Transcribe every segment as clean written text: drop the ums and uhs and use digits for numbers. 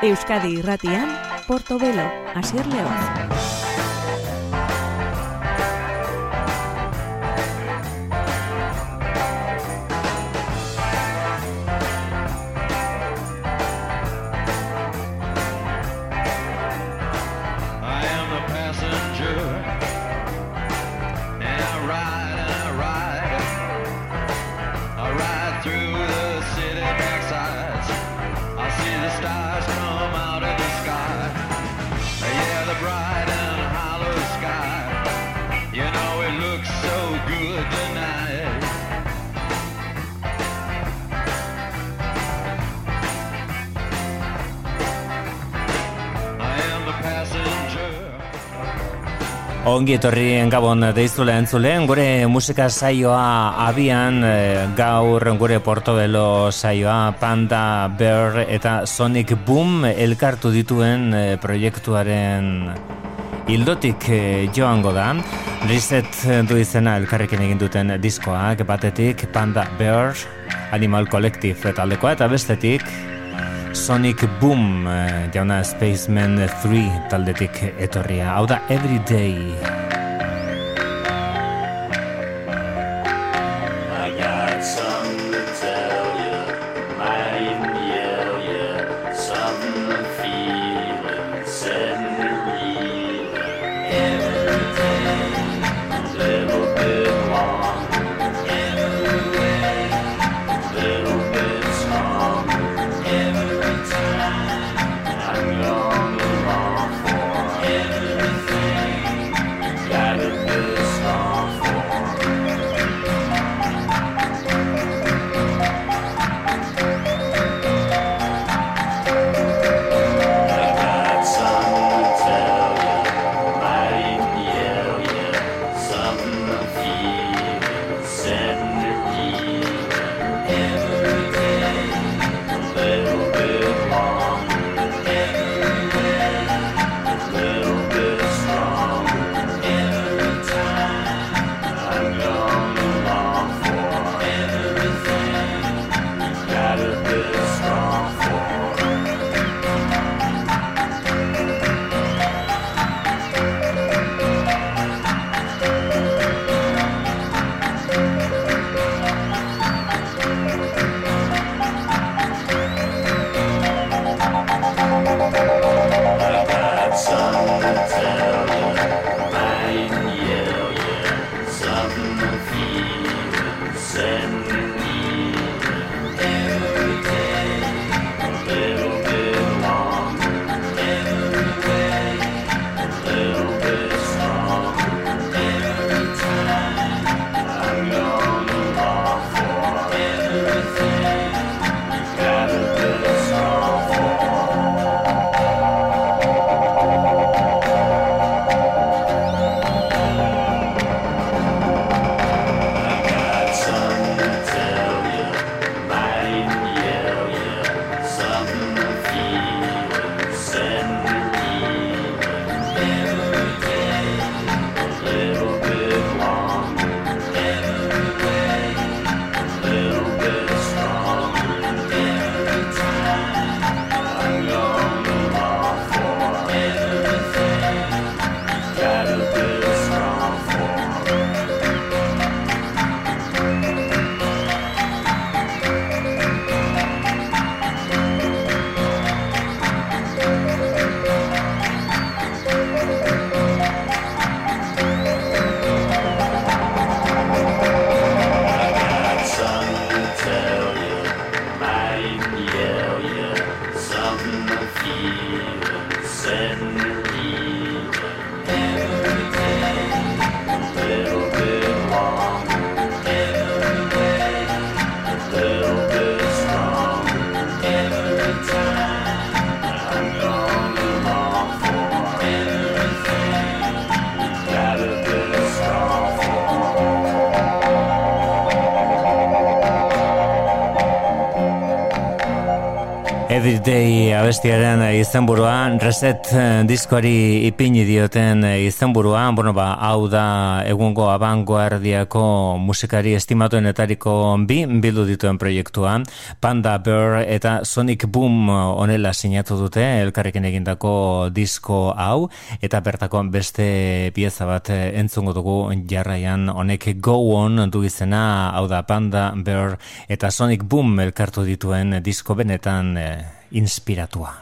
Euskadi Irratian, Portobelo, Asier León. Ongi etorri Gabon deizule entzuleen, gure musika saioa abian, gaur gure Portobelo saioa Panda Bear eta Sonic Boom elkartu dituen proiektuaren hildotik joango da. Reset du izena elkarrekin egin duten diskoak, batetik Panda Bear, Animal Collective taldekoa, eta bestetik Sonic Boom, jauna Spaceman 3 taldetik etorria. Hau da Everyday. Everyday abestiaren izenburua, Reset diskoari ipini dioten izenburua, hau da egungo abangoardiako musikari estimatuenetariko bildu dituen proiektua, Panda Bear eta Sonic Boom honela sinatu dute elkarrekin egindako disko hau, eta bertako beste pieza bat entzungo dugu jarraian, honek Go On du izena, hau da Panda Bear eta Sonic Boom elkartu dituen disko benetan inspiratua.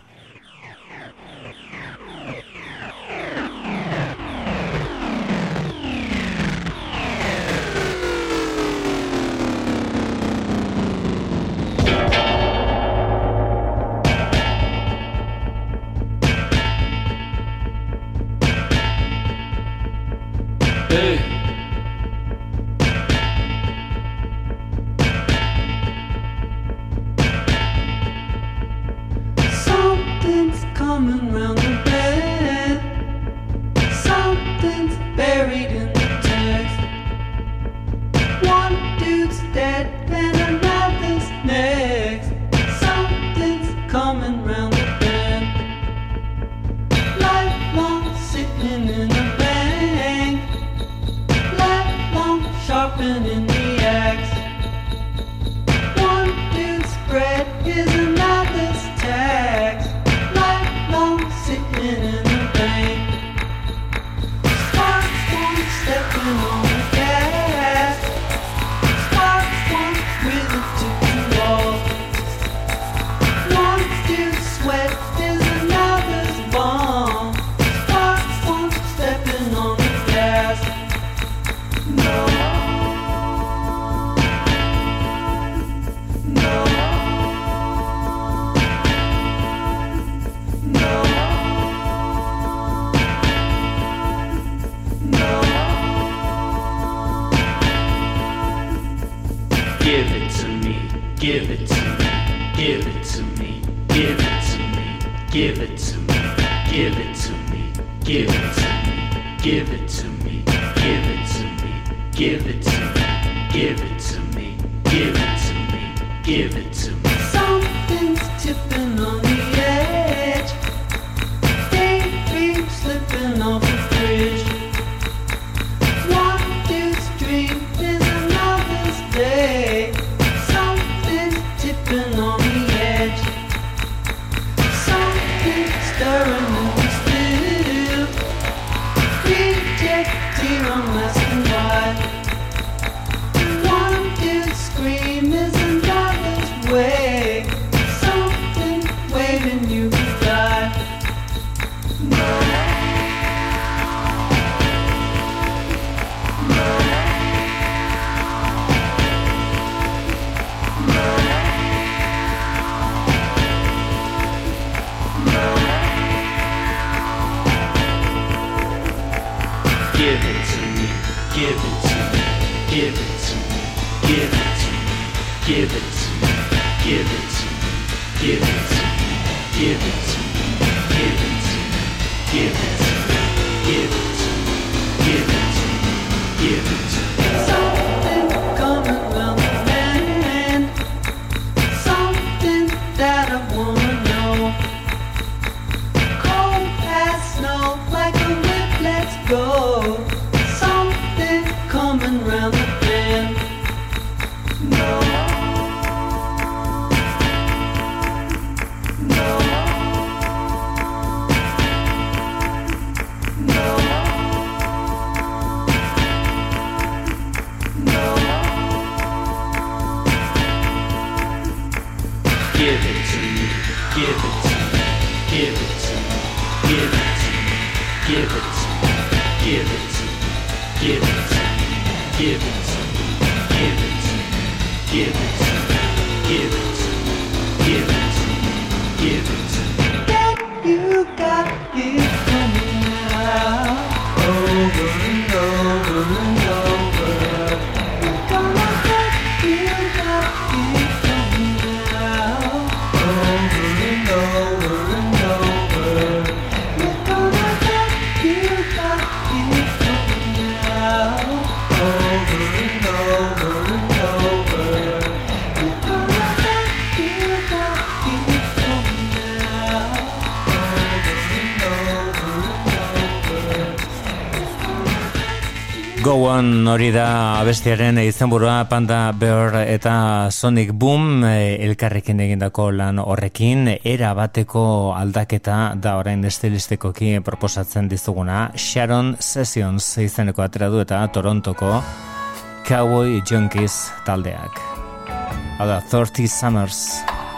Go On hori da abestiaren izenburua, Panda Bear eta Sonic Boom elkarrekin egindako lan horrekin, era bateko aldaketa da orain estilistikoki proposatzen dizuguna. Sharon Sessions izeneko atera du eta Torontoko Cowboy Junkies taldeak. Hau da, 30 Summers.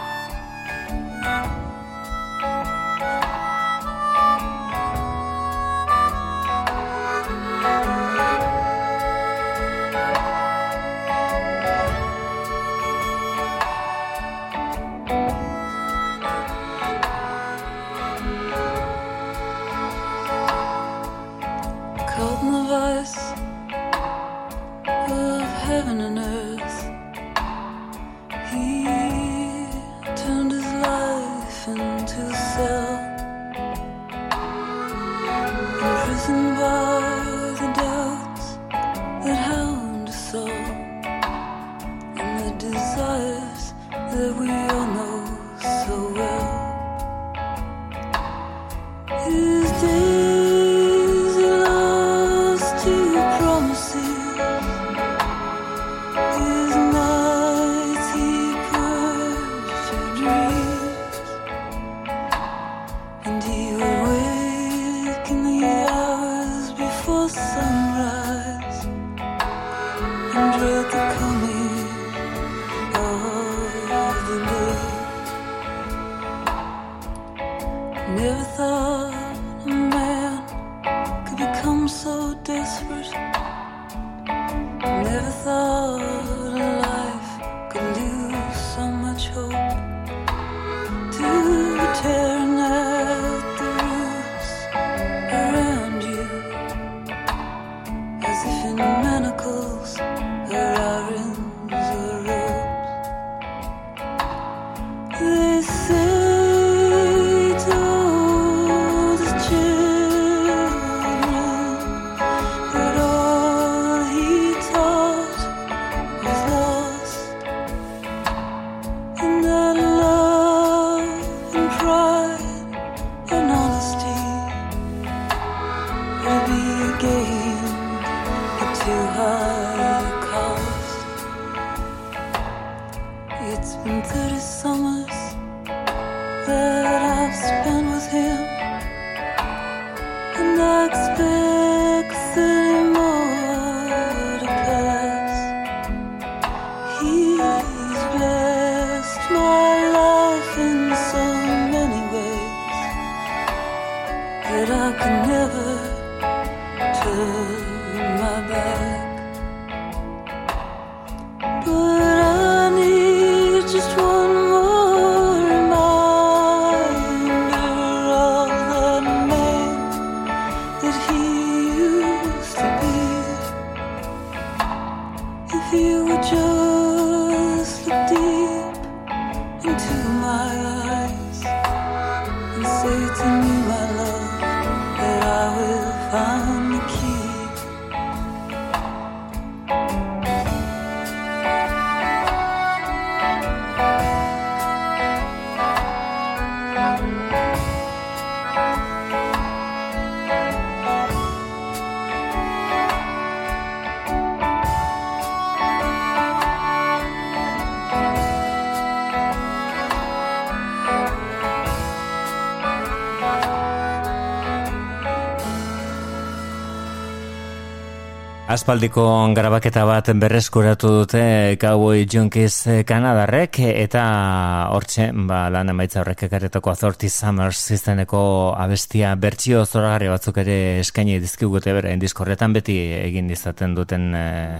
Aspaldiko grabaketa bat berreskuratu dute Cowboy Junkies Kanadarrek eta hortxe lan emaitza horrek ekarretako 30 Summers izeneko abestia bertsio zoragarri batzuk ere eskaini dizkigute berain diskorretan beti egin izaten duten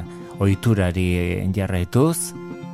ohiturari jarraituz.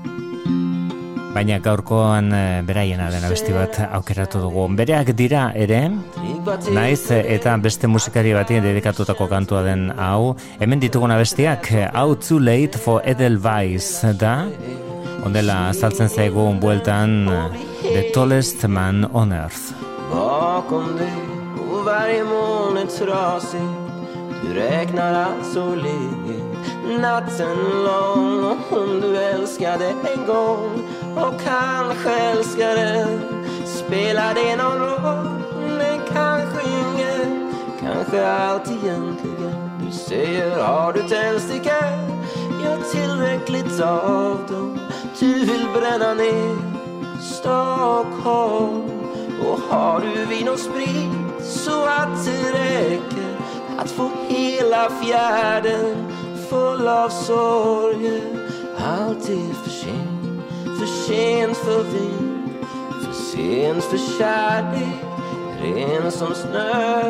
Baina gaurkoan beraiena den abesti bat aukeratu dugu. Bereak dira ere, naiz eta beste musikari bati dedikatutako kantua den hau. Hemen ditugun abestiak, How Too Late for Edelweiss da. Ondela azaltzen zaigun bueltan The Tallest Man on Earth. Bakom dig och varje moln är trasigt. Du räknar allt så ledigt. Natten lång och om du älskade en gång och kanske älskade, spelar det någon roll? Men kanske ingen, kanske allt egentligen. Du säger har du tändstickor? Ja, tillräckligt av dem. Du vill bränna ner Stockholm. Och har du vin och sprit så att det räcker att få hela fjärden full av sorger. Allt är för sent för vin, för sent för kärlek, ren som snö.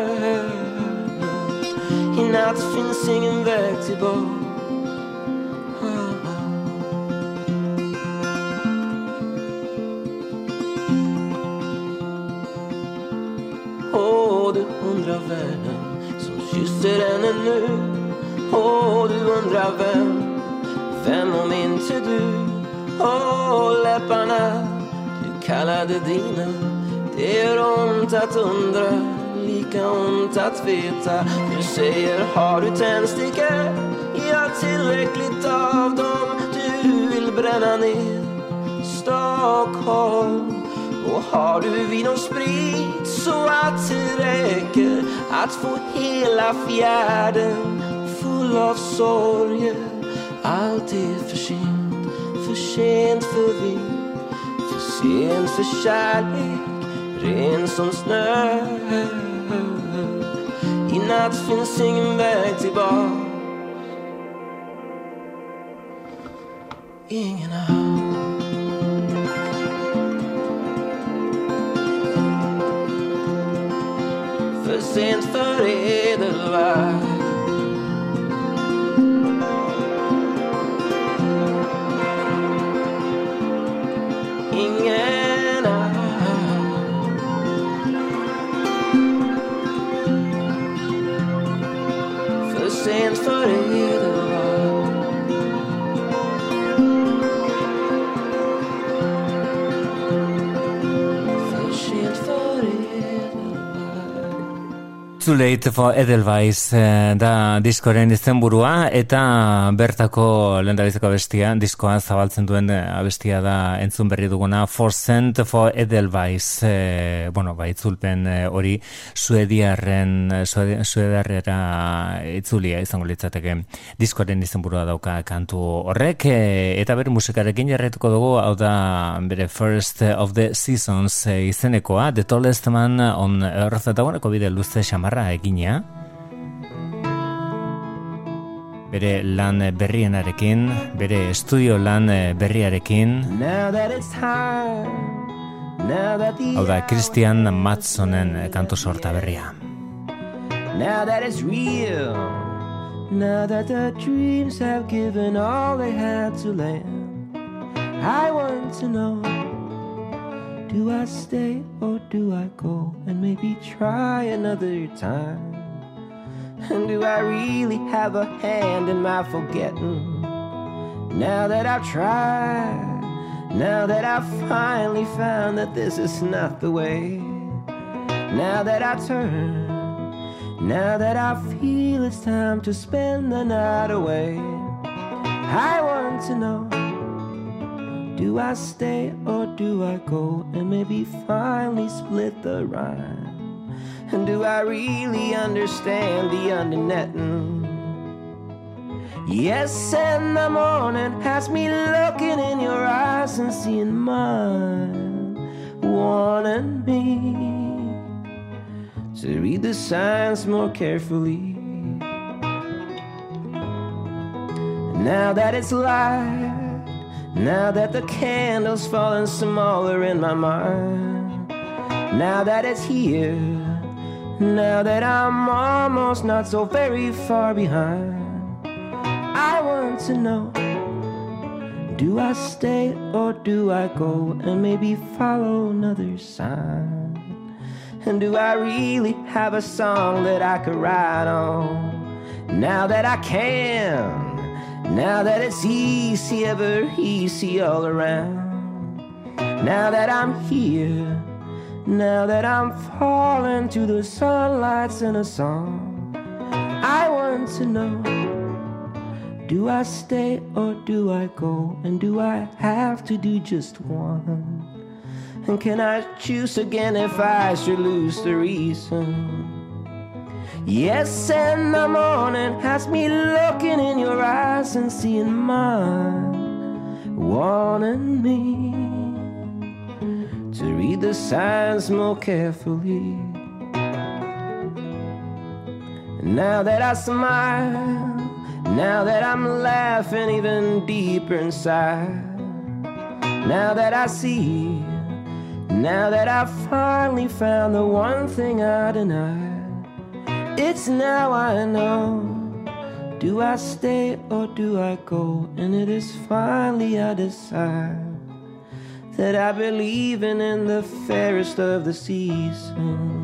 I natt finns ingen väg tillbaka. Och du undrar världen som kysser henne nu. Och du undrar vem om inte du. Och läpparna du kallade dina. Det är ont att undra, lika ont att veta. Du säger har du tändstickor? Ja, tillräckligt av dem. Du vill bränna ner Stockholm. Och har du vin och sprit så att det räcker att få hela fjärden full av sorger. Allt är för sent för vin, för sent för kärlek, ren som snö. I natt finns ingen väg tillbaka. Ingen har. För sent för Edelweiss. Ingen för sent för Edelweiss. För sent för Too Late for Edelweiss da diskoren izenburua eta bertako lehendabiziko abestia, diskoa zabaltzen duen abestia da entzun berri duguna For Cent for Edelweiss, itzulpen hori suedarrera itzulia izango litzateke diskoren izenburua dauka kantu horrek, eta bere musikarekin jarraituko dugu, hau da bere First of the Seasons izenekoa, The Tallest Man on Earth, eta bide luze xamarra egina bere lan berrienarekin, bere estudio lan berriarekin. Hau da Christian Matsonen kantu sorta berria. Now that it's real, now that the dreams have given all they had to land, I want to know, do I stay or do I go and maybe try another time? And do I really have a hand in my forgetting? Now that I've tried, now that I've finally found that this is not the way. Now that I turn, now that I feel it's time to spend the night away, I want to know, do I stay or do I go and maybe finally split the rhyme? And do I really understand the undernetting? Yes, and the morning has me looking in your eyes and seeing mine, wanting me to read the signs more carefully. Now that it's light, now that the candle's falling smaller in my mind, now that it's here, now that I'm almost not so very far behind, I want to know, do I stay or do I go and maybe follow another sign? And do I really have a song that I could write on? Now that I can, now that it's easy, ever easy all around, now that I'm here, now that I'm falling to the sunlights in a song, I want to know, do I stay or do I go? And do I have to do just one? And can I choose again if I should lose the reason? Yes, and the morning has me looking in your eyes and seeing mine, wanting me to read the signs more carefully. Now that I smile, now that I'm laughing even deeper inside, now that I see, now that I finally found the one thing I denied, it's now I know, do I stay or do I go? And it is finally I decide that I believe in the fairest of the seasons.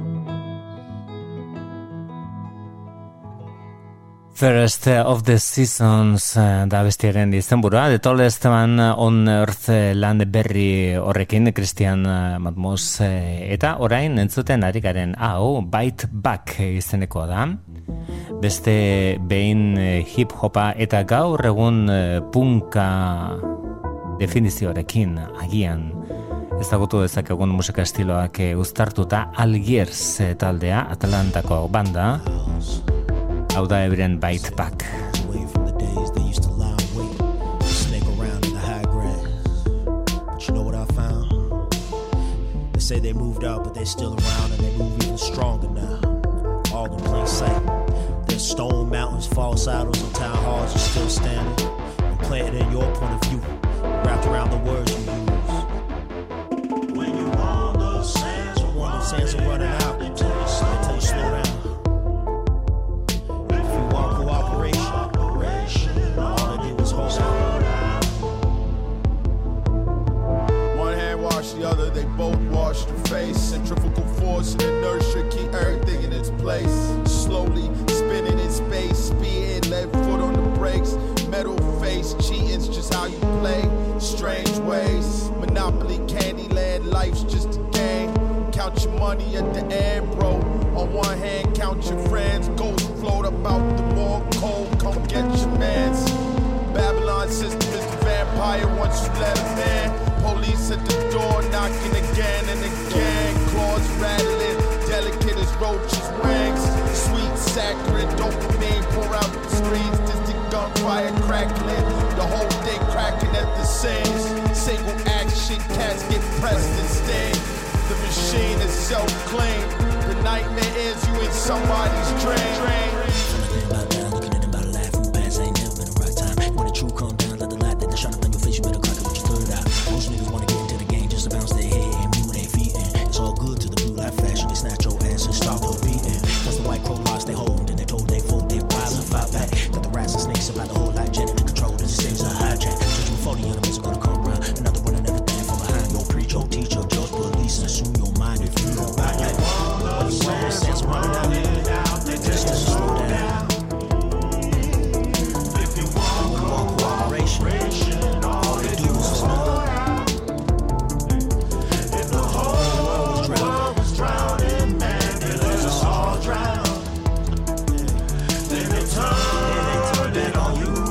Fairest of the Seasons da bestiaren izenburua, The Tallest Man on Earth lan berri horrekin, Christian Matmos, eta orain entzuten ari garen hau, Bite Back izeneko da. Beste behin hip-hopa eta gaur egun punka definizioarekin agian ezagutu dezakegun musika estiloak uztartuta Algiers taldea, Atlantako banda. Hau da euren Bite Back. Away from the days they used to lie in wait, snake around in the high grass. But you know what I found? They say they moved out, but they're still around, and they move even stronger now. All in plain sight. There's stone mountains, false idols, and town halls are still standing. And planted in your point of view, wrapped around the words you use. When you want those sands are running out, they tell you slow down. The other, they both wash the face. Centrifugal force and inertia keep everything in its place. Slowly spinning in space, speeding, left foot on the brakes. Metal face, cheating's just how you play. Strange ways, Monopoly, Candyland, life's just a game. Count your money at the end, bro. On one hand, count your friends. Ghosts float about the wall, cold, come get your mans. Babylon system is the vampire once you let him in. Police at the door knocking again and again. Claws rattling, delicate as roaches' wings. Sweet saccharine dopamine pour out the screens. Distant gunfire crackling, the whole day cracking at the seams. Single action, cats get pressed and sting. The machine is self-clean. The nightmare is you in somebody's dream. Looking at them about laughing, past ain't never been the right time. When the truth come down, let the light that shine up on your face, you better crack it with your third eye. Most niggas wanna get into the game just to bounce their head and move their feet in. It's all good to the blue light fashion, they snatch your ass and start your beating. That's the white crow lost they hold, and they told they fold their rise and fight back. Got the rats and snakes about the whole lot, genetic control, and the stages are hijack. Just 40 enemies are gonna come around, another one and everything from behind. Your preach, your teacher, judge, police, and assume your mind if you don't back that. What you want, sense running out, just to slow down. If you want cooperation, all they do is snub. If the whole world was drowning, man, they let us all drown. Then they turned it on you.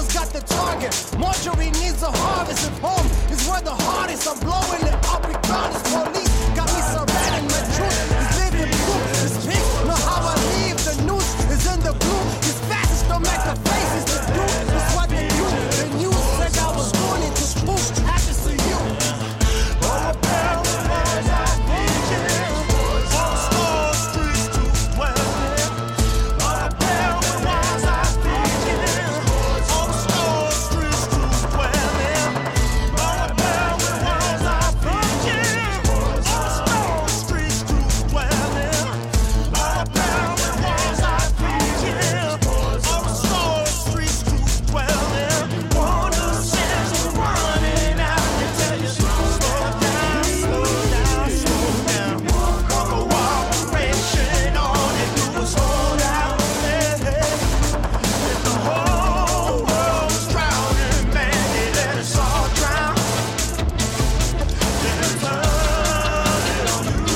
Mama's got the target. Marjorie needs a harvest. If home is where the hardest, I'm blowing it up regardless. Police got me surrounded. My truth is living proof. This pink, know how I leave. The news is in the blue. These fascists don't make the faces to do. It's what they do. The news said I was born into spoof. Happens to you. All the power was I thinking. On Star Street to dwell in. All the power was I thinking. On Star Street to dwell in. All the power was I thinking. On Star Street to dwell in. All the power was I thinking. On Star Street to dwell in. Wonder says we're running out. They tell you slow down, slow down, slow down. Walk a cooperation, all they do is hold out. Hey, hey. If the whole world's drowning, man, they let us all drown. Then it's turning on you.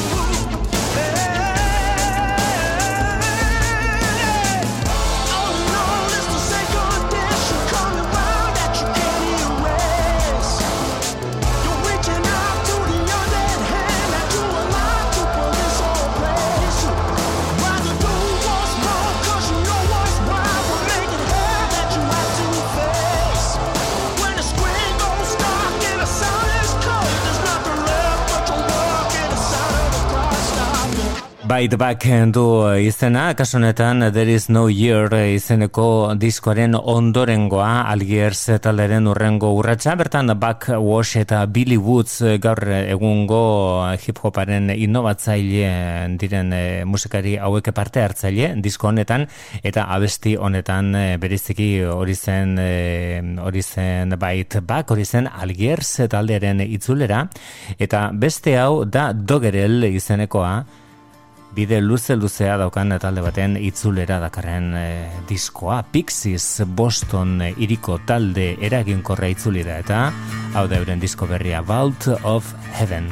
All alone is the second dish you're coming round that you can't erase. You're reaching out to the undead hand that you allow to pull this whole place. Rather do what's wrong, 'cause you know what's right. Will make it hard that you have to face. When the screen goes dark and the sound is cold, there's nothing left but your work and the sound of the clock stopping. Bite Back du izena, kasu honetan There is no year izeneko diskoaren ondorengoa, Algiers talderen urrengo urratsa, bertan Backwash eta Billy Woods gaur egungo hip-hoparen innovatzaile diren musikari hauek parte hartzaile disko honetan, eta abesti honetan bereziki hori zen Bite Back, hori zen Algiers talderen itzulera, eta beste hau da Doggerel izenekoa, bide luze-luzea daukan talde baten itzulera dakarren diskoa. Pixies Boston hiriko talde eraginkorra itzuli da, eta hau da euren disko berria, Vault of Heaven.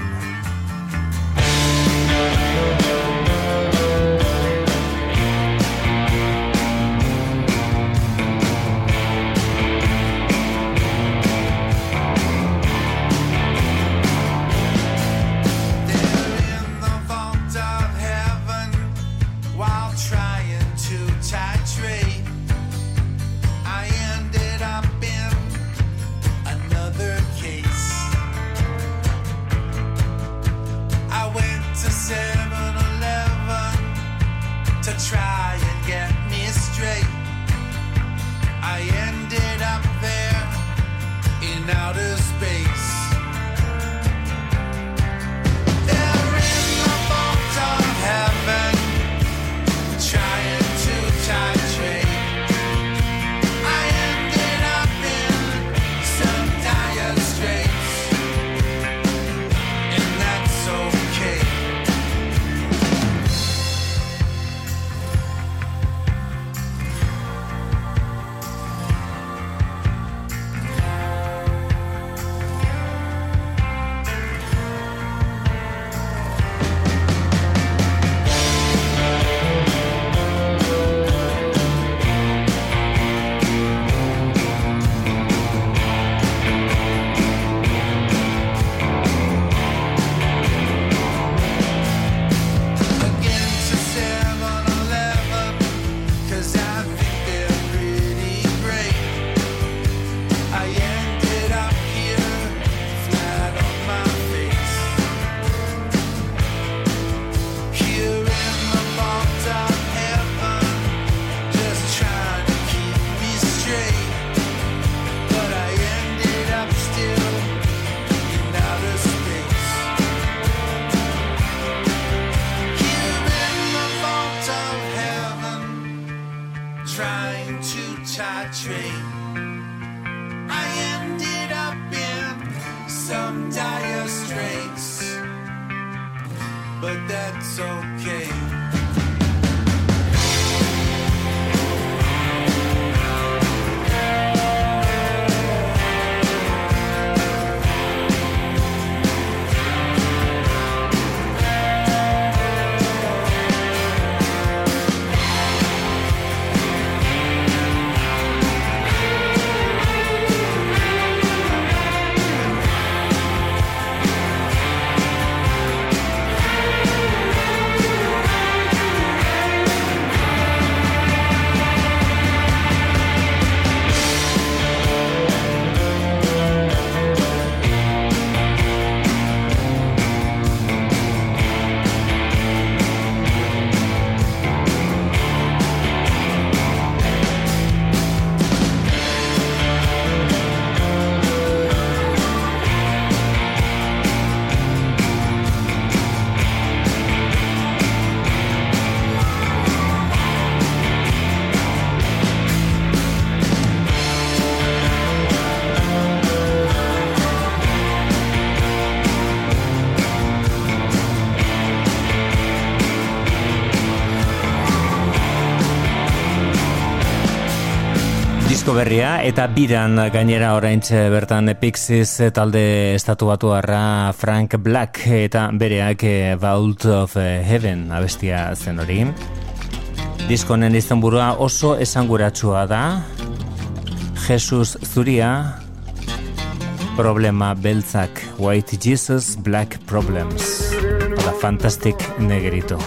disko berria eta biran gainera oraintxe bertan Pixies talde estatuatuarra Frank Black eta bereak Vault of Heaven abestia zen hori. Diskonen izenburua oso esanguratsua da. Jesus zuria, problema beltzak, White Jesus, Black Problems. Hola, Fantastic Negrito.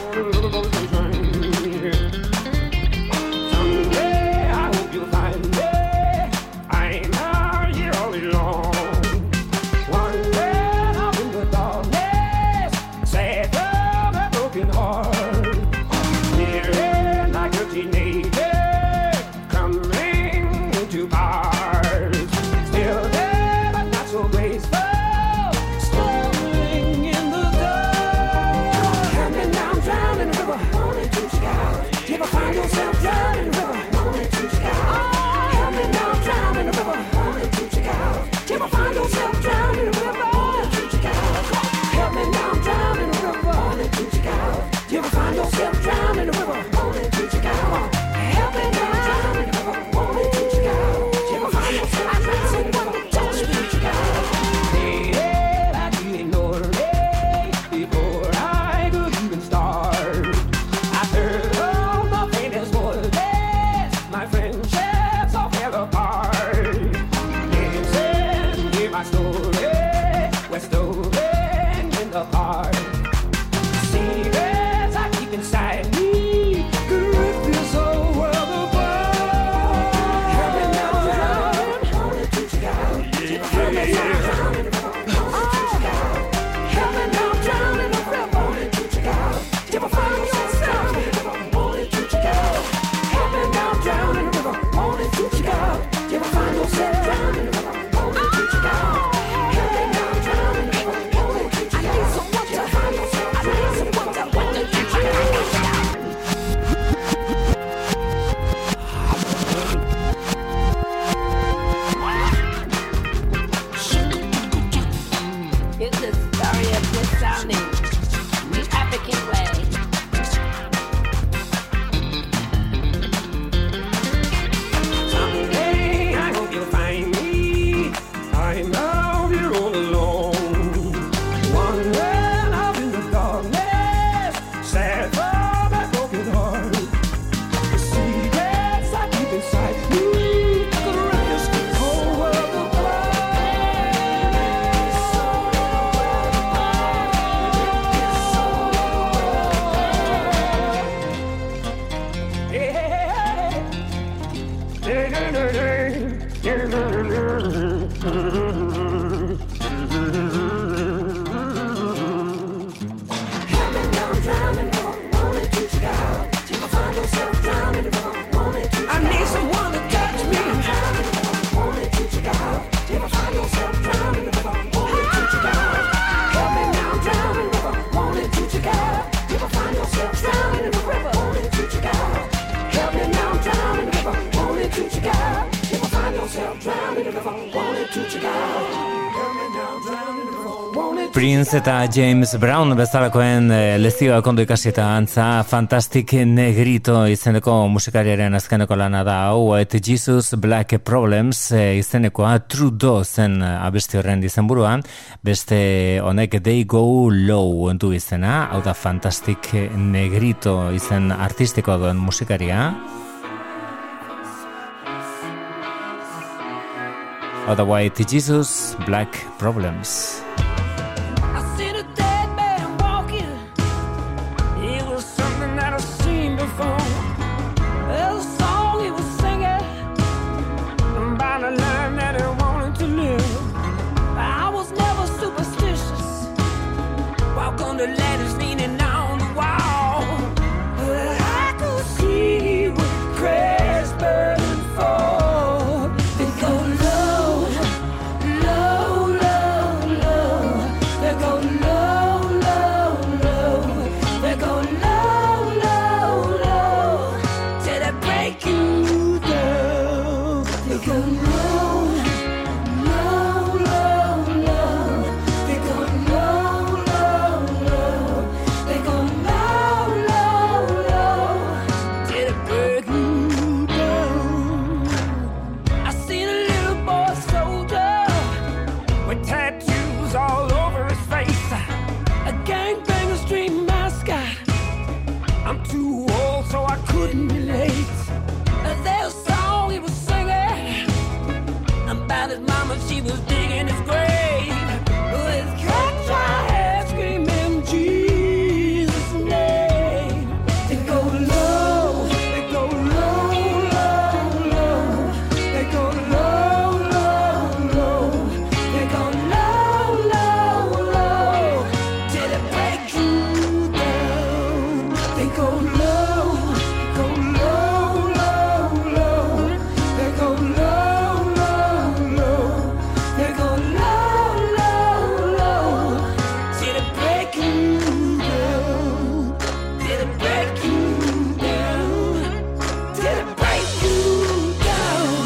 Prince eta James Brown bezalakoen lezioak ondo ikasi eta antza Fantastic Negrito izeneko musikariaren azkeneko lana da hau, White Jesus, Black Problems izenekoa Trudeau zen abesti horren izenburuan, beste honek They Go Low entu izena, hau da Fantastic Negrito izen artistiko duen musikaria. Hau da White Jesus, Black Problems. The letters leaning on the wall, but I could see what crashed, burning for. They go low, low, low, low. They go low, low, low. They go low, low, low. Till they break you down. They go low, low, low, low. They go low. fingers digging his grave. With cats I had screaming Jesus' name. They go low, they go low, low, low. They go low, low, low. They go low, low, low. Till it break you down. They go low, go low, low, low. They go low, low, low. They go low, low, low. Till it break you down. Till it break you down. Till it break you down.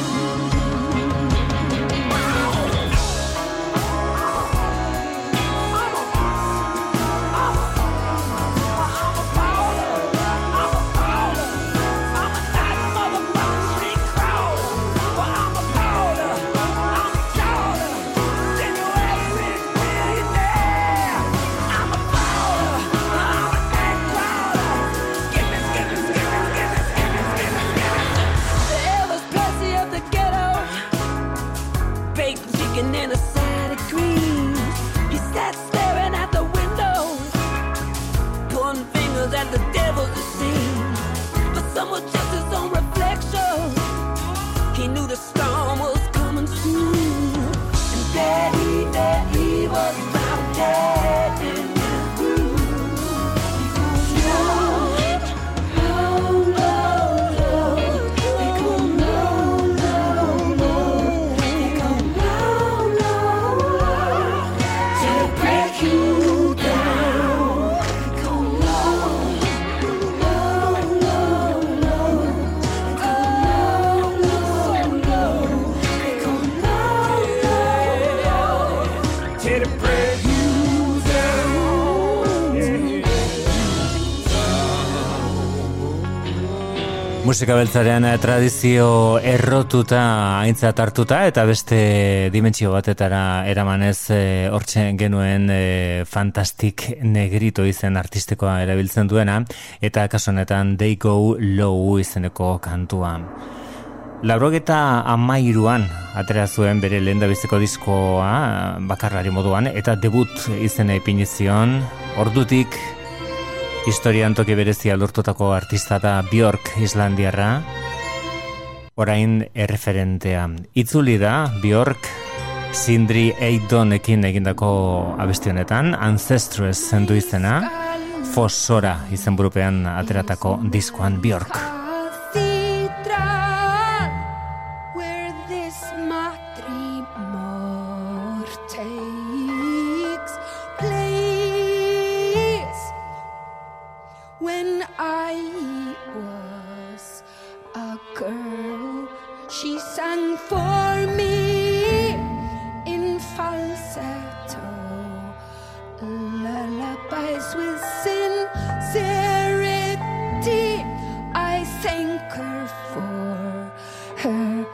And a side of cream. He sat staring at the window, pointing fingers at the devil to see. But some was just his own reflection. He knew the storm was coming soon. And there he was found dead in his room. He goes low, low, low, low. They go low, low, low. They go low, low, low. Till it break you down. They go low, low, low, low. They go low, low, low. They go low, low, low. Till it break you down. Musika beltzaren tradizio errotuta aintzat hartuta eta beste dimentsio batetara eramanez hortxe genuen Fantastic Negrito izen artistikoa erabiltzen duena eta kasu honetan They Go Low izeneko kantua. 93an atera zuen bere lehendabiziko diskoa bakarlari moduan eta debut izena ipini zion. Ordutik historian toki berezia lortutako artista da Björk islandiarra, orain erreferentea. Itzuli da Björk Sindri Eidonekin egindako abesti honetan, Ancestress zendu izena, Fossora izenburupean ateratako diskoan Björk. Where this matrimor takes place. When I was a girl, she sang for me in falsetto, lullabies with sincerity. I thank her for her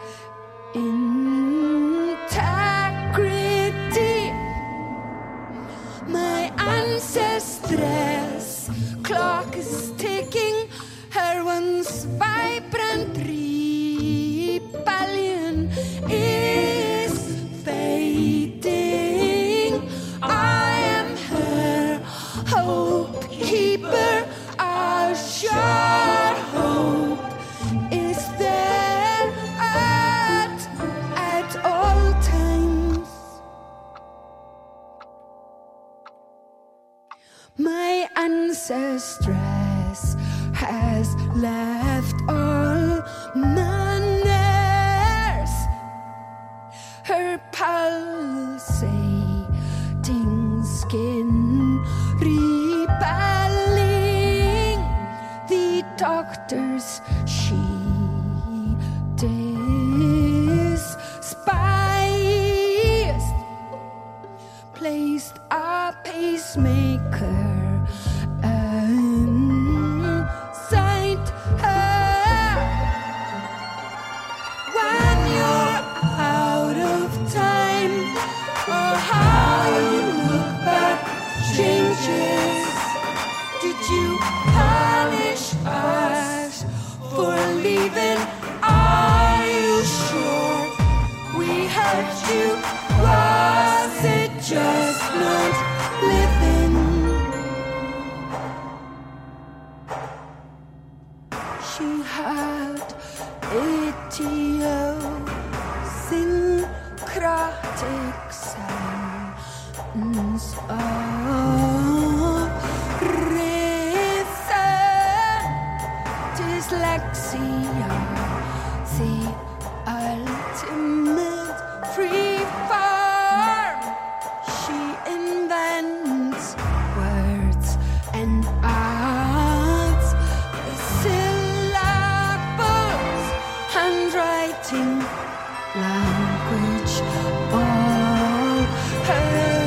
integrity. My ancestress clock is ticking, her once vibrant rebellion is fading. I am her hope keeper, our sure hope is there at all times. My ancestress has left all manners, her pulsating skin rebelling. The doctors she despised placed a pacemaker inside her necrotic sounds of rhythm, dyslexia, the ultimate free form. She invents words and arts, the syllables, handwriting, language, all her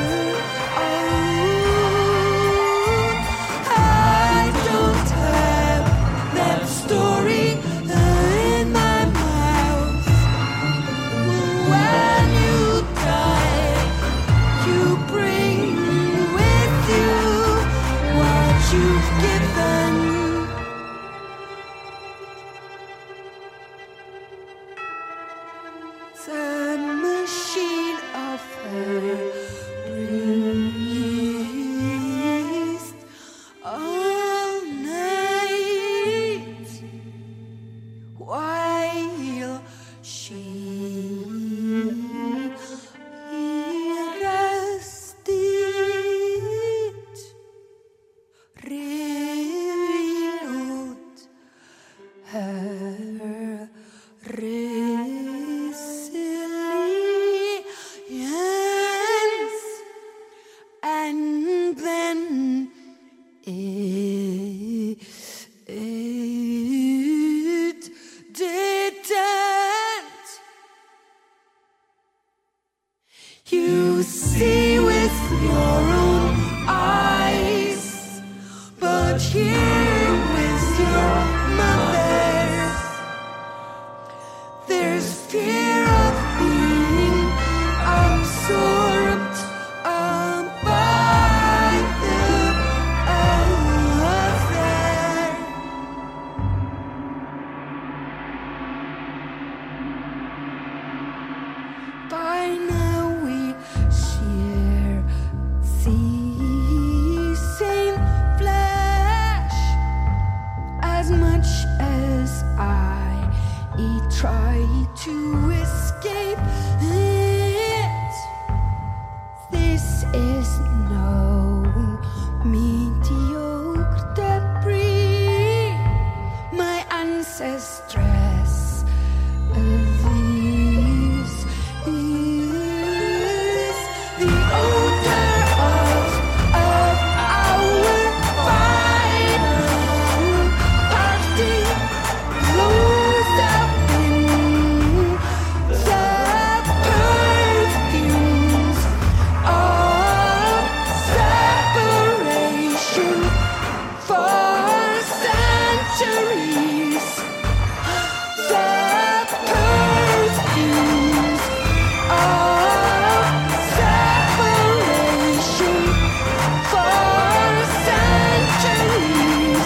own. I don't have that story in my mouth. When you die, you bring with you what you've given. The machine of her breathed all night while she rested, revealed her resilience, and then it didn't. You see with your own eyes, but hear with your mother's. There's fear of being absorbed by the other. By now we share the same flesh, as much as I try to escape it. This is no mediocre debris. My ancestress, this is the odor of our final party. Closed up in the perfumes of separation for centuries. The perfumes of separation for centuries.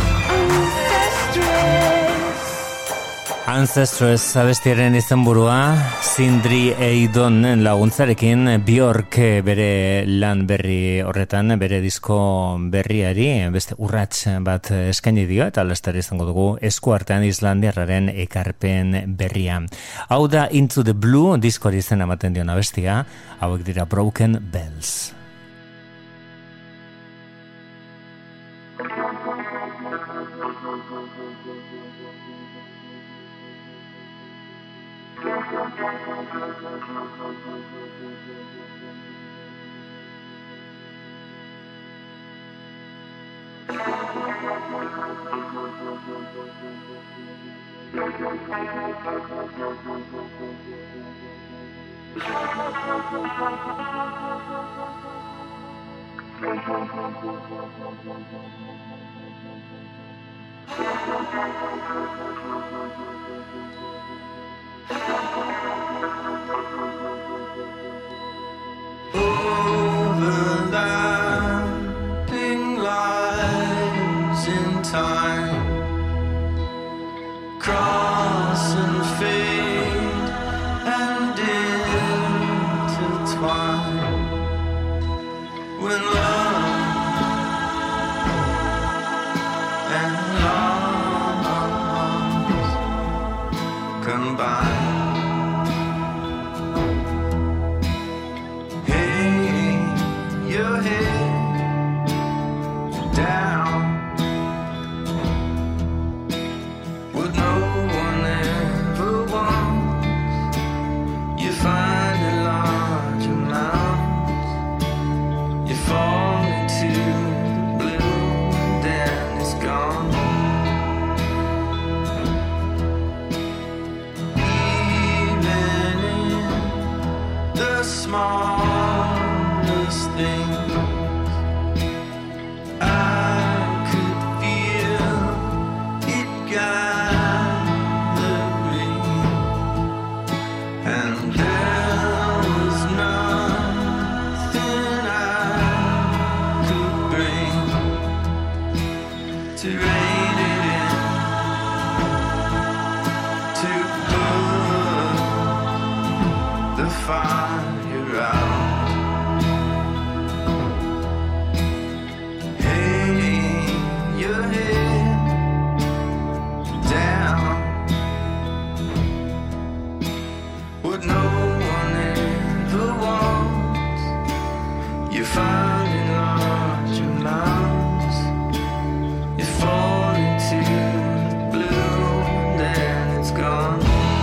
Ancestress abestiaren izenburua, Sindri Eidonen laguntzarekin Björk bere lan berri horretan, bere disko berriari beste urrats bat eskaini dio, eta laster izango dugu eskuartean Islandiarraren ekarpen berria. Hau da Into the Blue diskoari izena ematen dion abestia, hauek dira Broken Bells. Overlapping lines in time cross and fade and intertwine when love and loss combine. your head down. What no one ever wants, you find in large amounts. You fall into the blue, then it's gone. Even in the smallest things, I could feel it gathering, and there was nothing I could bring to rein it in, to put the fire out. Hanging your head down, what no one ever wants, you find in large amounts. You fall into the blue, then it's gone.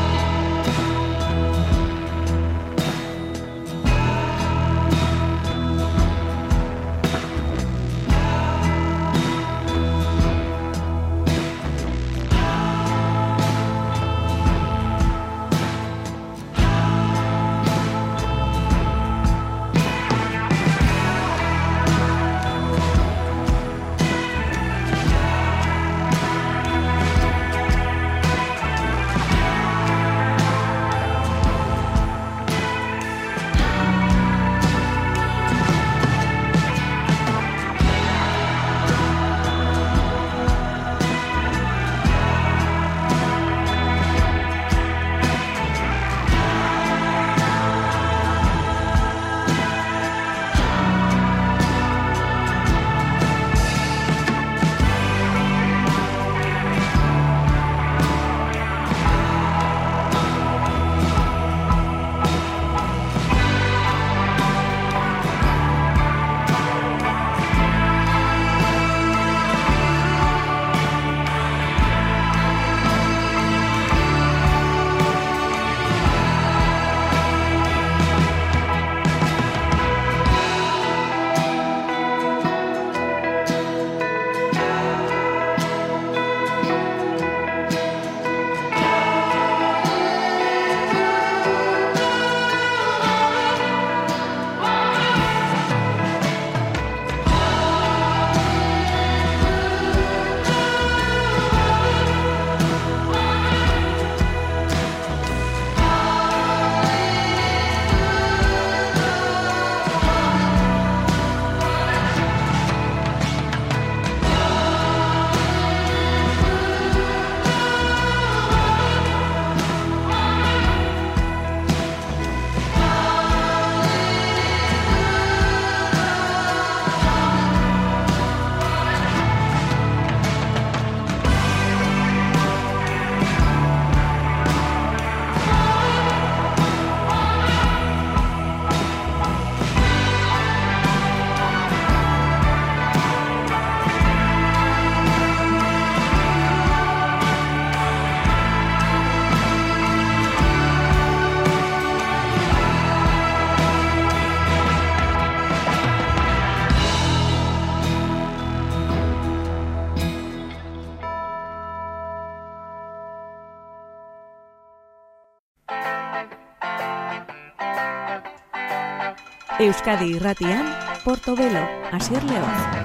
Euskadi Irratian, Portobelo, Asier León.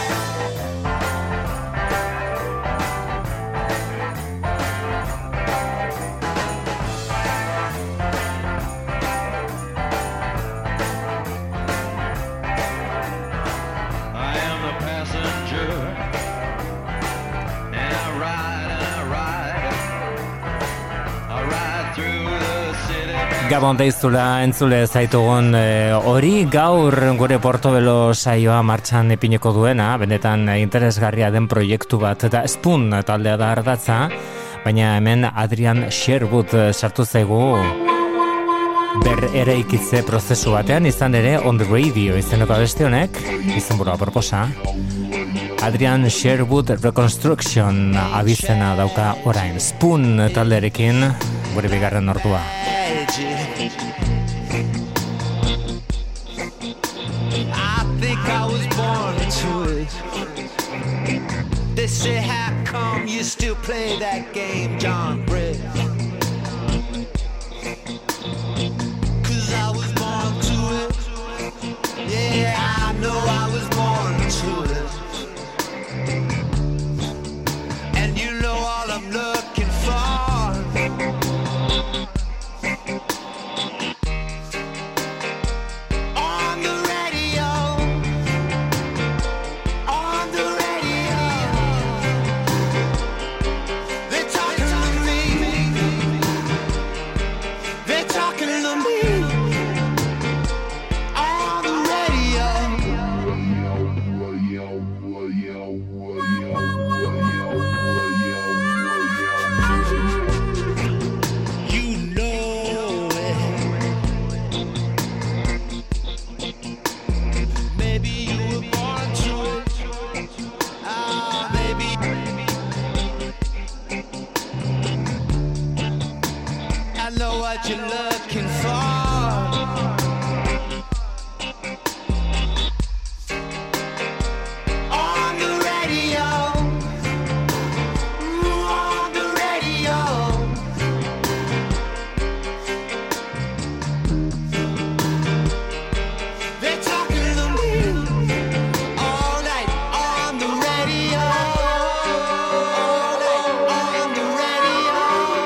Gabon deiztula entzule zaitugun hori gaur gure Portobelo saioa martxan ipineko duena, benetan interesgarria den proiektu bat, eta Spoon taldea da ardatza, baina hemen Adrian Sherwood sartu zaigu eraikitze prozesu batean, izan ere On the Radio izeneko abesti honek, izenburua proposa, Adrian Sherwood Reconstruction abizena dauka orain, Spoon talderekin gure bigarren ordua. I think I was born to it. They say how come you still play that game, John Britt? I was born to it. Yeah, I know I was born to it. And you know all I'm looking for. On the radio. On the radio. They're talking to me. They're talking to me. What you're looking for. On the radio. On the radio. They're talking to me all night on the radio. All night on the radio.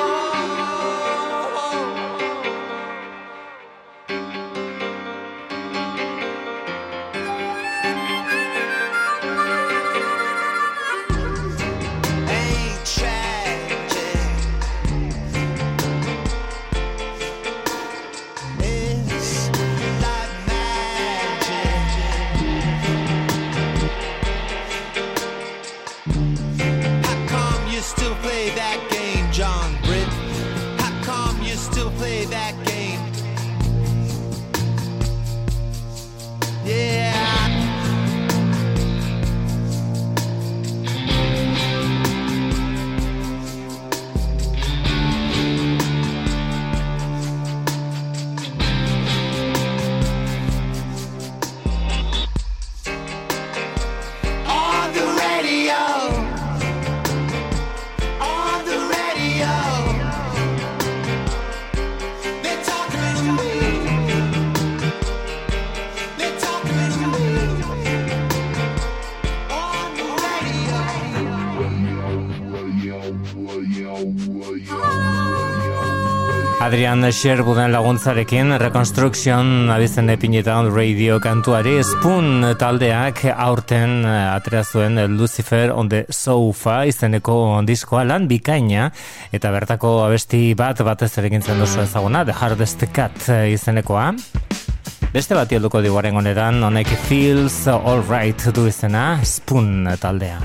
Adrian Sherwooden laguntzarekin Reconstruction abizen epineta on radio kantuari Spoon taldeak aurten atera zuen Lucifer on the Sofa izeneko diskoa lan bikaina eta bertako abesti batez ere egintzen duzu ezaguna The Hardest Cut izenekoa. Beste bati helduko diguaren honetan honek Feels Alright du izena Spoon taldea.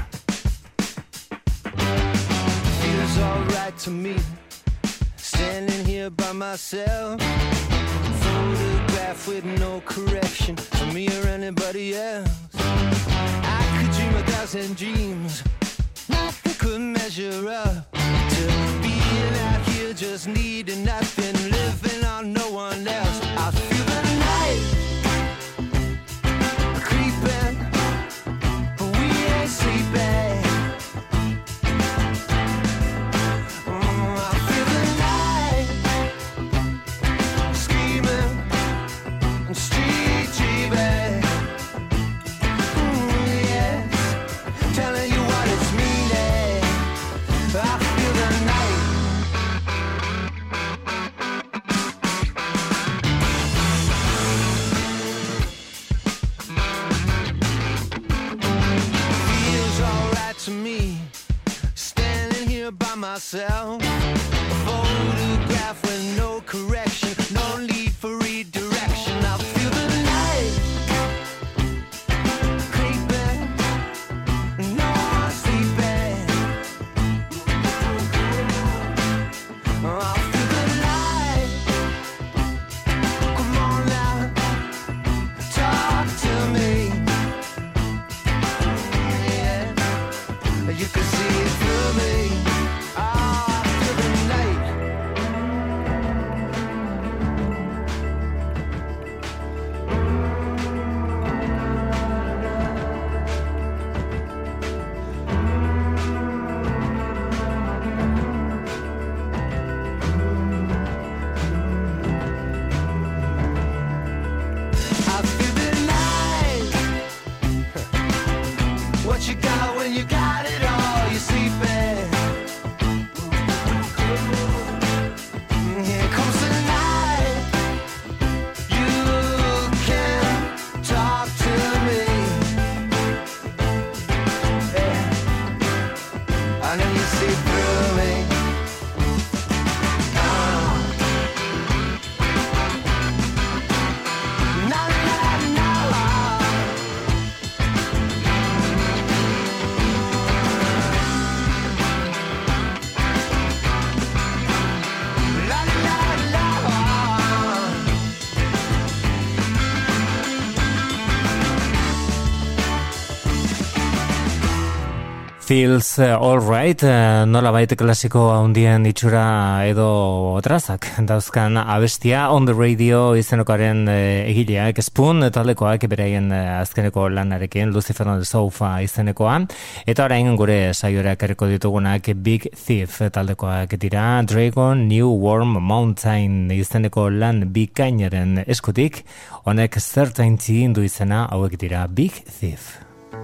Feels alright to me. Standing here by myself, photograph with no correction for me or anybody else. I could dream 1,000 dreams, nothing could measure up to being out here just needing nothing, living on no one else. I feel the night creeping, but we ain't sleeping. Feels All Right, nolabait klasiko handien itxura edo trazak dauzkan abestia On the Radio izenokaren egileak Spoon taldekoak beraien azkeneko lanarekin Lucifer on the Sofa izenekoa, eta orain gure saiora ekarriko ditugunak Big Thief taldekoak dira, Dragon New Warm Mountain izeneko lan bikainaren eskutik, honek Certainty du izena, hauek dira Big Thief.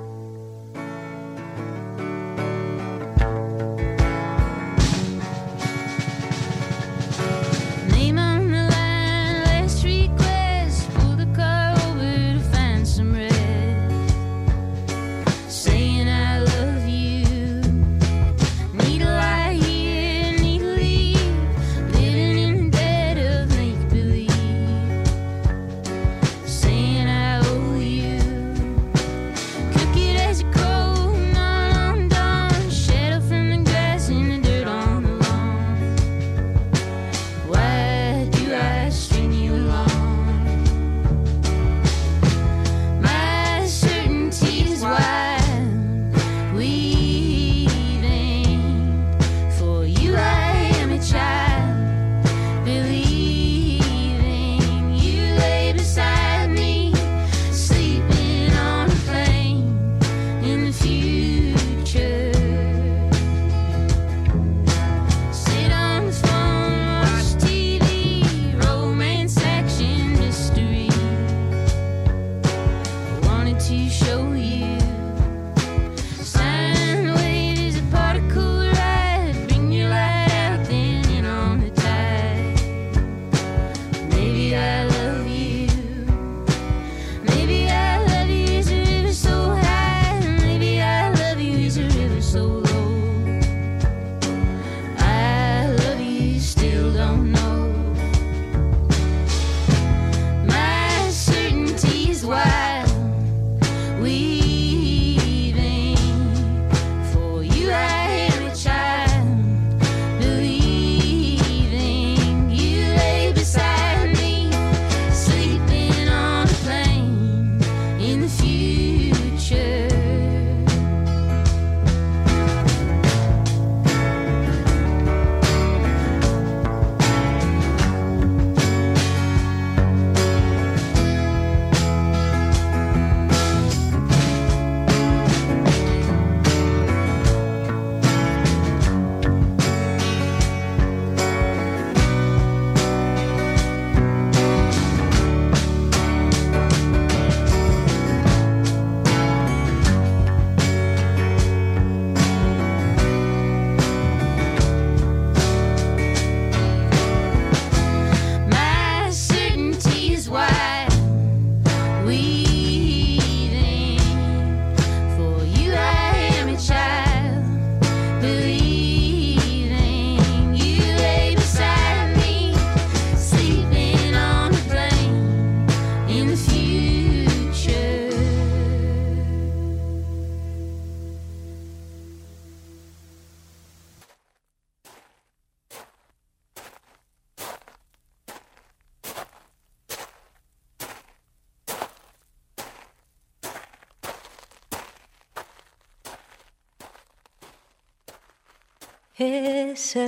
Ese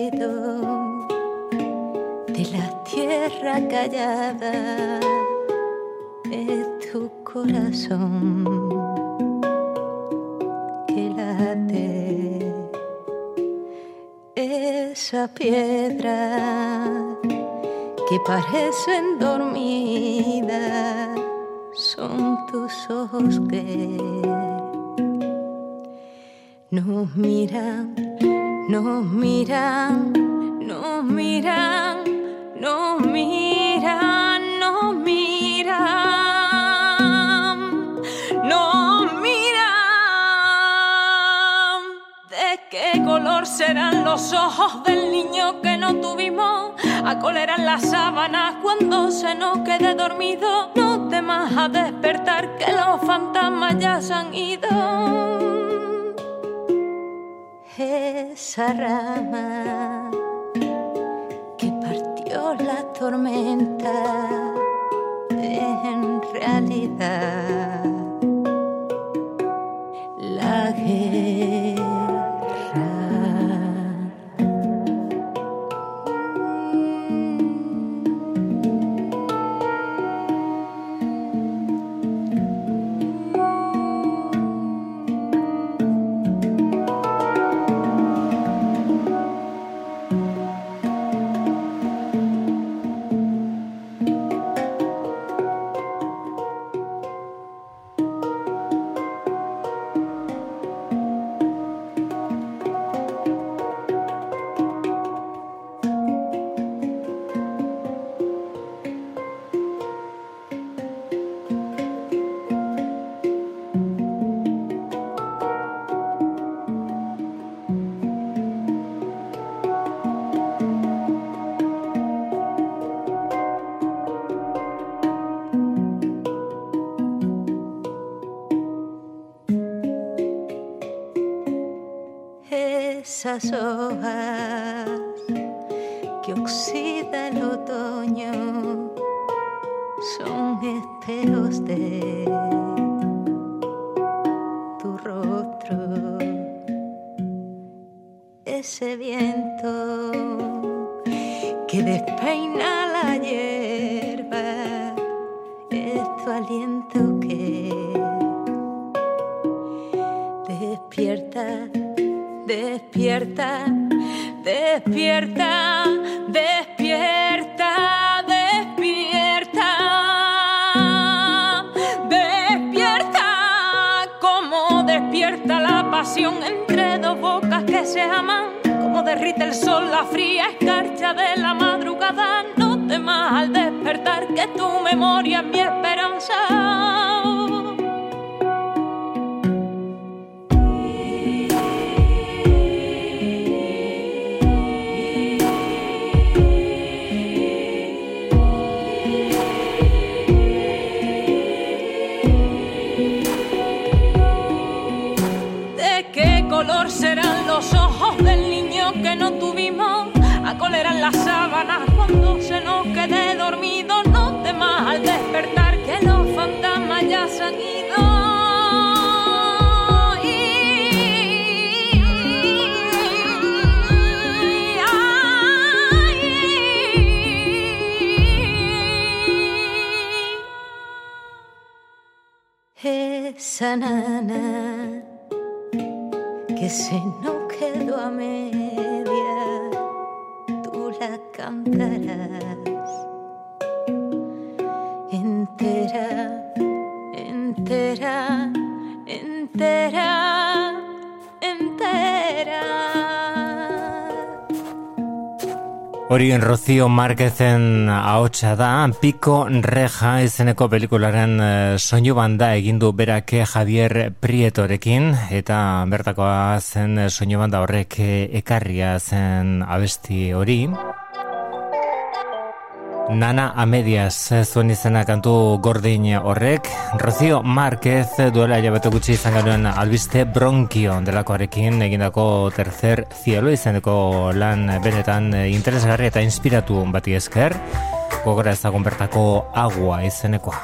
ruido de la tierra callada de tu corazón que late, esa piedra que parecen dormidas son tus ojos que nos miran. Nos miran, nos miran, nos miran, nos miran, nos miran. ¿De qué color serán los ojos del niño que no tuvimos? ¿A cuál eran las sábanas cuando se nos quede dormido? No temas a despertar que los fantasmas ya se han ido. Esa rama que partió la tormenta en realidad la Esas hojas que oxida el otoño son espejos de tu rostro. Ese viento que despeina la hierba es tu aliento que despierta. Despierta, despierta, despierta, despierta, despierta, como despierta la pasión entre dos bocas que se aman, como derrite el sol la fría escarcha de la madrugada. No temas al despertar que tu memoria es mi esperanza. Serán los ojos del niño que no tuvimos, a cuál eran las sábanas cuando se nos quede dormido. No temas al despertar que los fantasmas ya se han ido. Esa nana que se nos quedó a media, tú la cantarás entera, entera, entera, entera. Hori Rocío Márquezen ahotsa da, Pico Reja izeneko pelikularen soinu banda egin du berak Javier Prietorekin, eta bertakoa zen soinu banda horrek ekarria zen abesti hori. Nana a medias zuen izena kantu gordin horrek. Rocío Márquez duela hilabete gutxi izan genuen albiste Bronkio delakoarekin egindako Tercer Cielo izeneko lan benetan interesgarri eta inspiratu bati esker. Gogora ezagun bertako Agua izenekoa.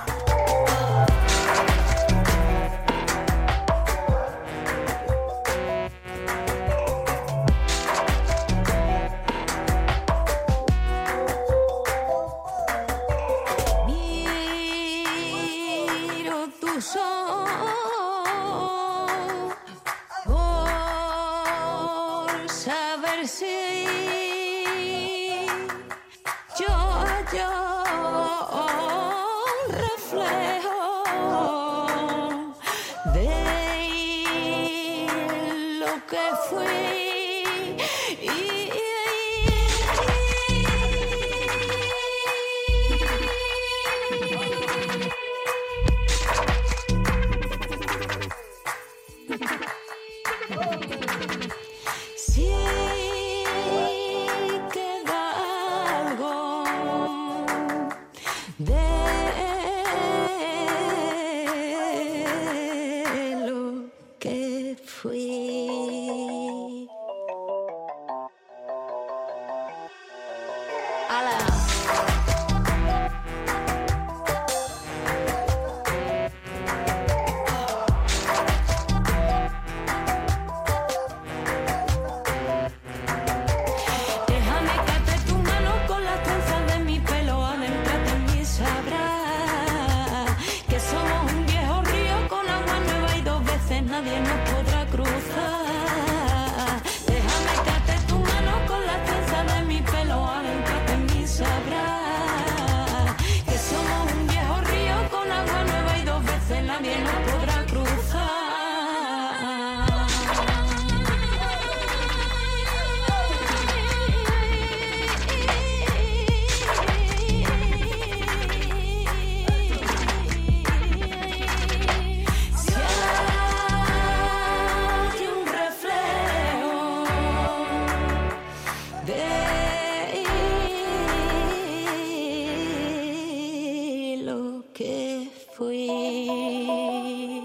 fui.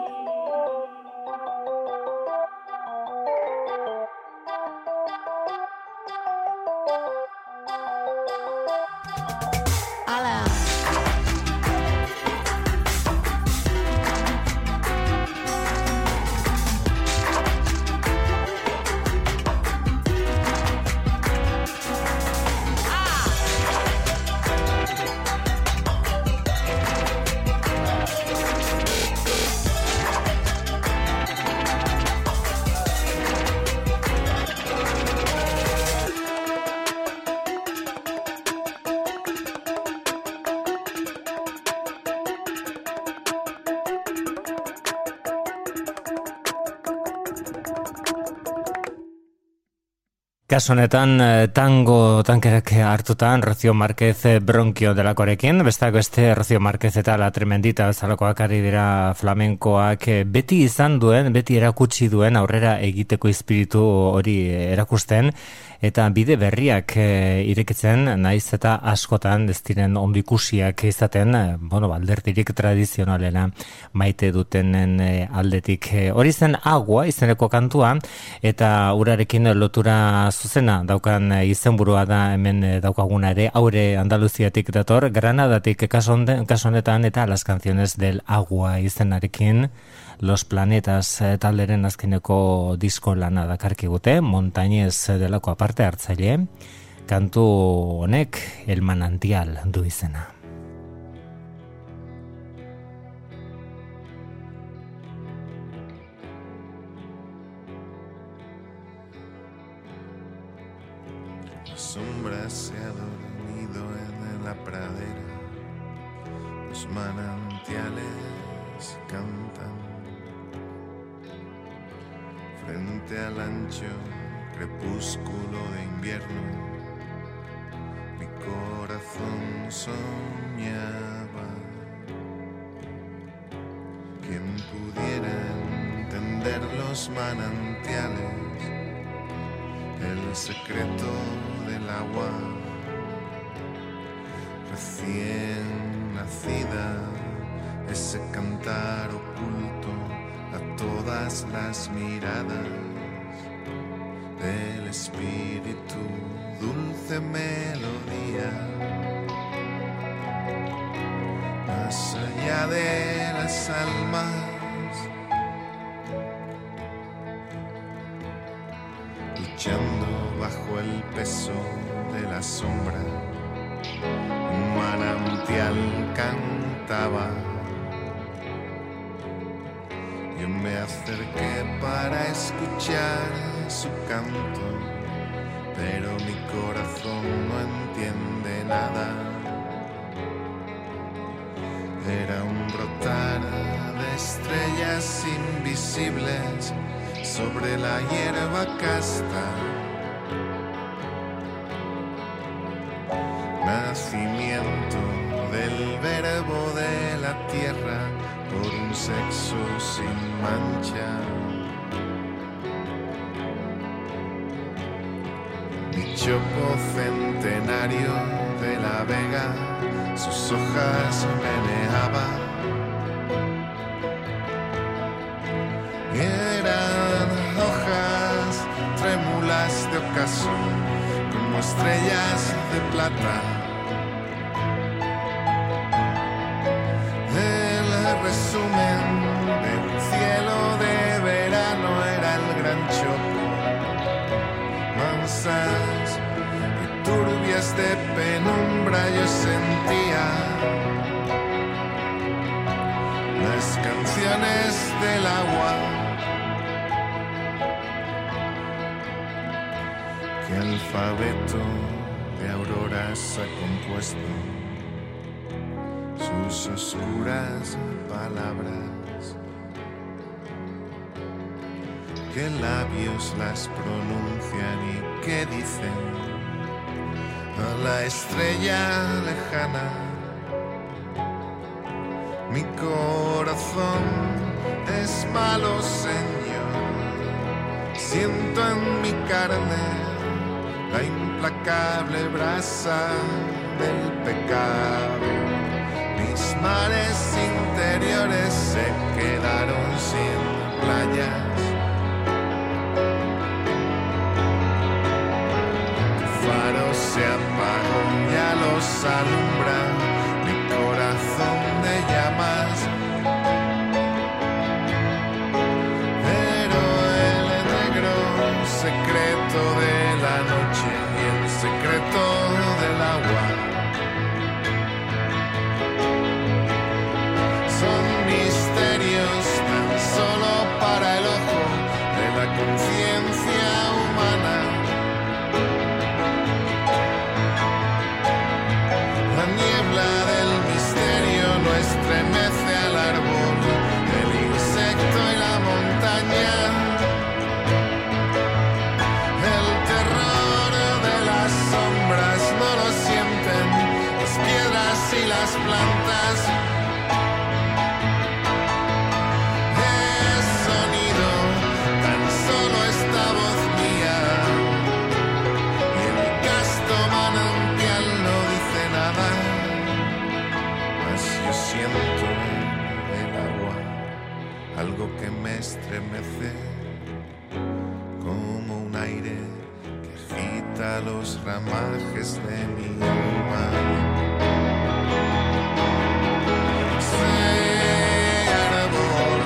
Ala. Kasu honetan tango tankerak hartutan Rocío Márquez Bronkio delakorekin, besteak beste Rocío Márquez eta La Tremendita bezalakoak ari dira flamenkoak beti izan duen, beti erakutsi duen aurrera egiteko espiritu hori erakusten, eta bide berriak irekitzen, naiz eta askotan ez diren ondo ikusiak izaten, alderdirik tradizionalena maite dutenen aldetik. Hori zen Agua izeneko kantua, eta urarekin lotura zuzena daukan izenburua da hemen daukaguna ere, Aure Andaluziatik dator, Granadatik kasu honetan, eta Las Canciones del Agua izenarekin Los Planetas talderen azkeneko disko lana dakarkigute, Montañez delako aparte hartzaile, kantu honek El Manantial du izena. La sombra se ha dormido en la pradera, los manantiales cantan frente al ancho crepúsculo de invierno. Mi corazón soñaba. Quien pudiera entender los manantiales, el secreto del agua recién nacida, ese cantar oculto a todas las miradas del espíritu, dulce melodía, más allá de las almas, luchando bajo el peso de la sombra. Un manantial cantaba. Yo me acerqué para escuchar su canto, pero mi corazón no entiende nada. Era un brotar de estrellas invisibles sobre la hierba casta. Nacimiento del verbo de la tierra por un sexo sin mancha. Mi chopo centenario de la vega, sus hojas meneaba. Eran hojas trémulas de ocaso, como estrellas de plata. El resumen de un cielo de verano era el gran chopo. Mansas y turbias de penumbra yo sentía las canciones del agua. ¿Qué alfabeto de auroras ha compuesto sus oscuras palabras? ¿Qué labios las pronuncian y qué dicen a la estrella lejana? Mi corazón es malo, Señor, siento en mi carne la implacable brasa del pecado. Mis mares sin interiores se quedaron sin playas. Tu faro se apagó, ya los alumbra mi corazón de llamas. Pero el negro secreto de la noche y el secreto del agua son misterios tan solo para el ojo de la conciencia humana. La niebla del misterio no estremece al árbol, el insecto y la montaña. El terror de las sombras no lo sienten las piedras y las plantas. Es sonido, tan solo esta voz mía, y el casto manantial no dice nada, mas yo siento el agua, algo que me estremece, como un aire que agita los ramajes de mi alma. Ese árbol,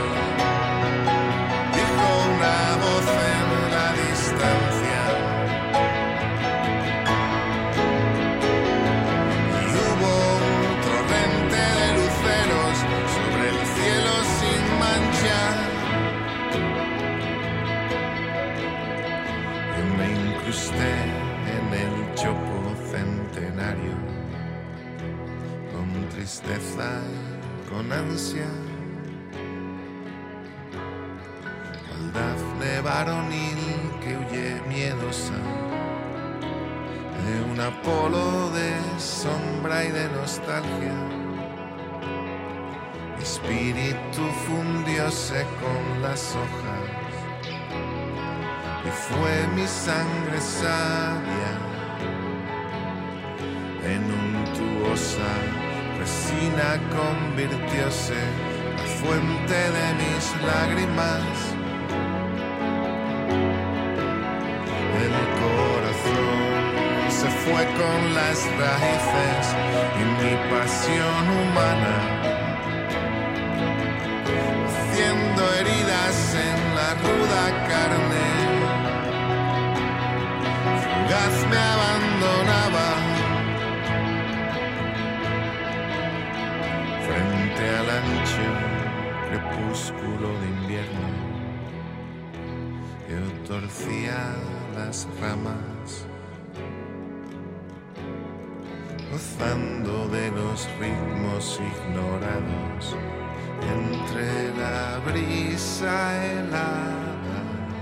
dijo una voz en la distancia, y hubo un torrente de luceros sobre el cielo sin mancha. Yo me incrusté en el chopo centenario, con tristeza y con ansia, cual Dafne varonil que huye miedosa de un Apolo de sombra y de nostalgia. Mi espíritu fundióse con las hojas y fue mi sangre sabia en untuosa resina convirtióse la fuente de mis lágrimas. El corazón se fue con las raíces y mi pasión humana, haciendo heridas en la ruda carne. Fugaz me abandonaba frente al ancho crepúsculo de invierno. Yo torcía las ramas, gozando de los ritmos ignorados entre la brisa helada.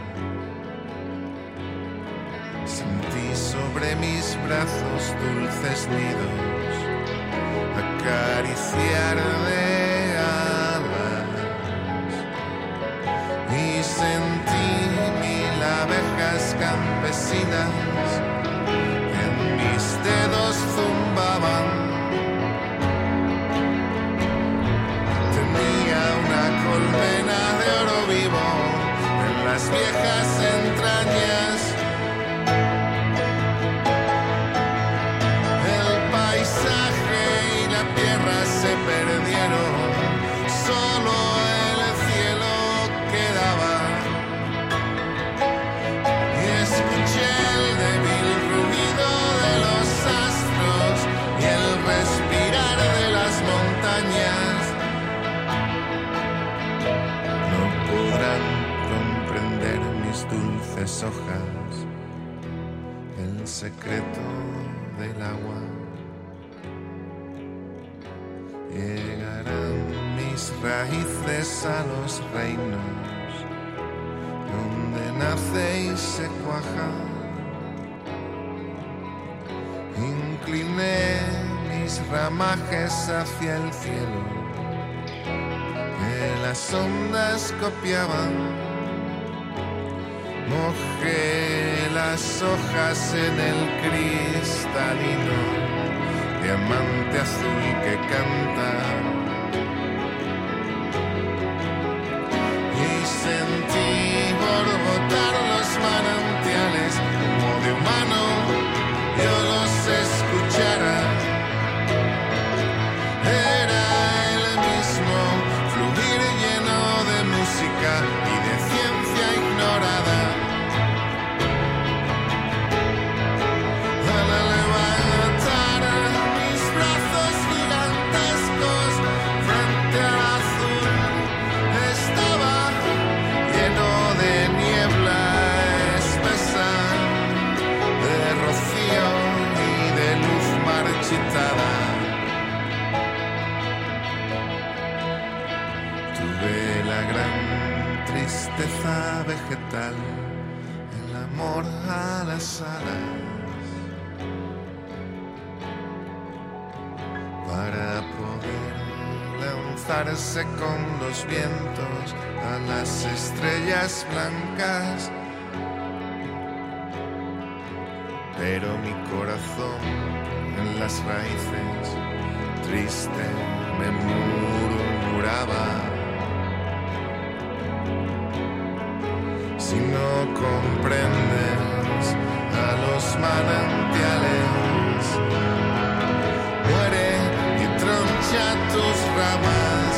Sentí sobre mis brazos dulces nidos acariciar de alas y sentí mil abejas campesinas que en mis dedos zumbaban. Tenía una colmena de oro vivo en las viejas entrañas. El paisaje y la tierra se perdieron, solo el cielo quedaba. Y escuché el débil rugido de los astros y el respirar de las montañas. No podrán comprender mis dulces hojas el secreto del agua. Llegarán mis raíces a los reinos donde nace y se cuaja. Incliné mis ramajes hacia el cielo que las ondas copiaban. Mojé las hojas en el cristalino diamante azul que canta. gran tristeza vegetal, el amor a las alas, para poder lanzarse con los vientos a las estrellas blancas. Pero mi corazón en las raíces triste me murmuraba: si no comprendes a los manantiales, muere y troncha tus ramas.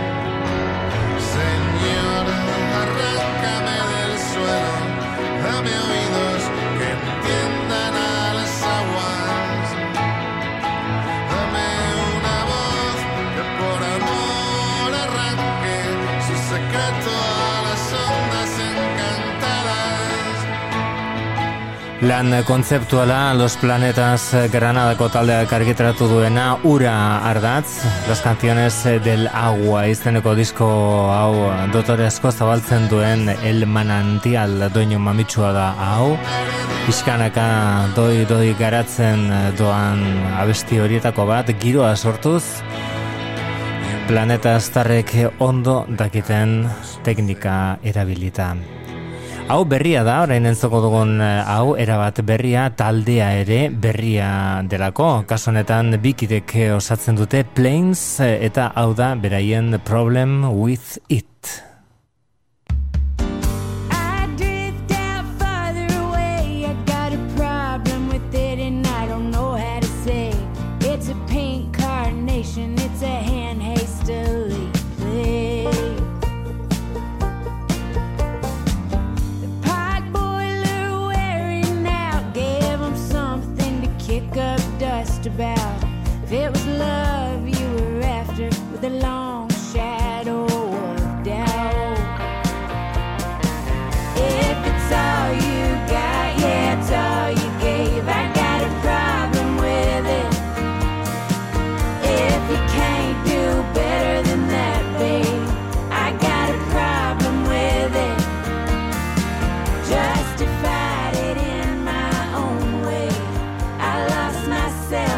Señor, arráncame del suelo, dame oídos que entiendan a las aguas, dame una voz que por amor arranque su secreto a las ondas encantadas. Lan kontzeptuala Los Planetas Granadako taldeak argitaratu duena Ura ardatz, Las Canciones del Agua izeneko disko hau dotore asko zabaltzen duen El Manantial doinu mamitsua da hau. Pixkanaka doi garatzen doan abesti horietako bat, giroa sortuz, planeta aztarrek ondo dakiten teknika erabilita. Hau berria da, orain entzoko dugun hau, erabat berria, taldea ere berria delako. Kasu honetan bikidek osatzen dute Plains, eta hau da beraien Problem with It. About if it was love you were after, with a long shadow of doubt. If it's all you got, yeah, it's all you gave, I got a problem with it. If you can't do better than that, babe, I got a problem with it. Justified it in my own way, I lost myself.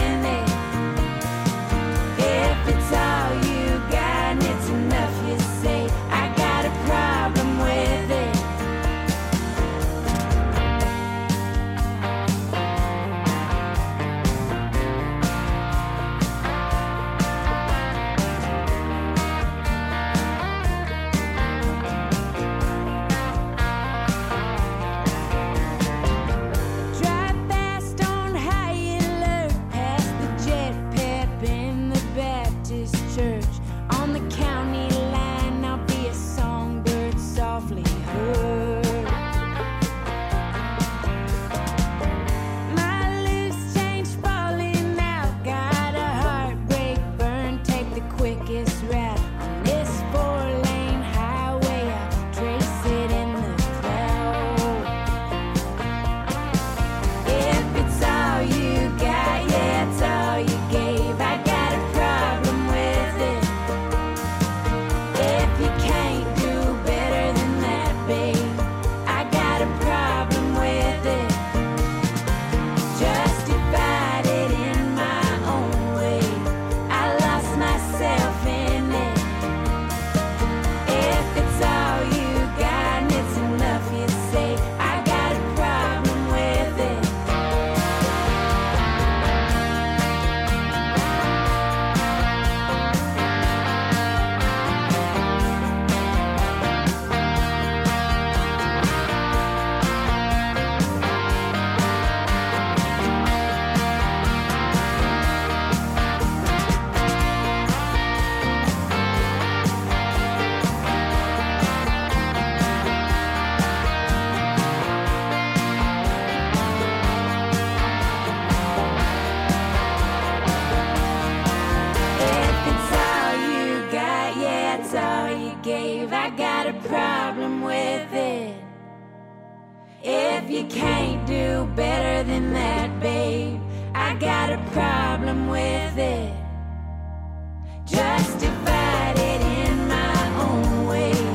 If you can't do better than that, babe, I got a problem with it. Justified it in my own way.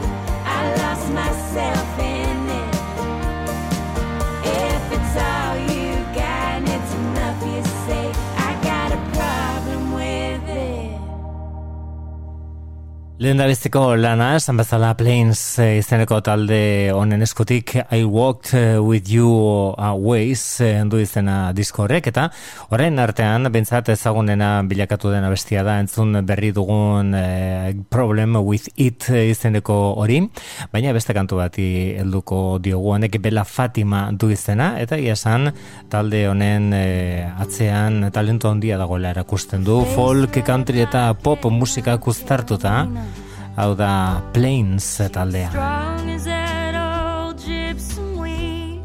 Lehen da bizteko lana, esan bezala Plains izeneko talde honen eskutik I Walked With You Ways du izena disko horrek, eta orain artean bentsat ezagunena bilakatu den abestia da entzun berri dugun Problem With It izeneko hori, baina beste kantu bati helduko diogu, honek Bella Fatima du izena, eta iasan talde honen atzean talento handia dagoela erakusten du, folk, country eta pop musika uztartuta. Hau da Plains taldea. Strong as that old gypsum weed.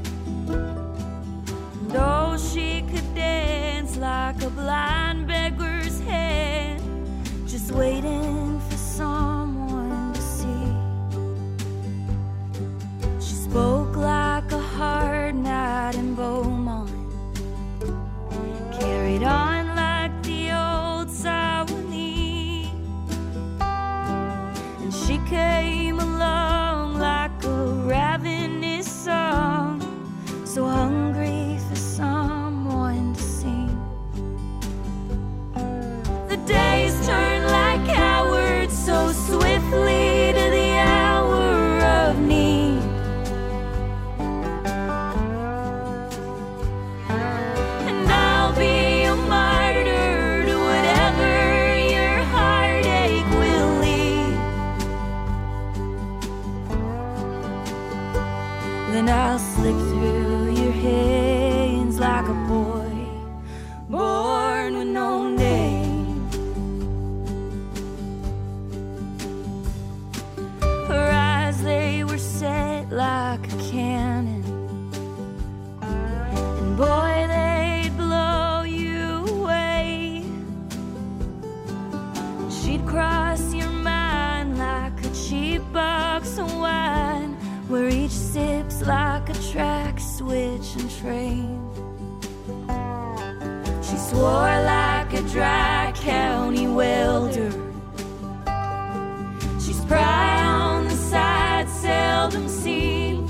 Though she could dance like a blind beggar's head, just waiting for someone to see. She spoke like a hard night in Beaumont, carried on like the old Sawanese. She came along like a ravenous song, so hungry for someone to sing. The days turn like hours so swiftly to the hour of need. And I'll be a martyr to whatever your heartache will lead. Then I'll slip through your hands like a boy born with no name. Her eyes, they were set like a cannon, and boy, they'd blow you away. She'd cross your mind like a cheap box of wine, where each sip's like a track switch and train. She swore like a dry county welder. She's spry on the side, seldom seen,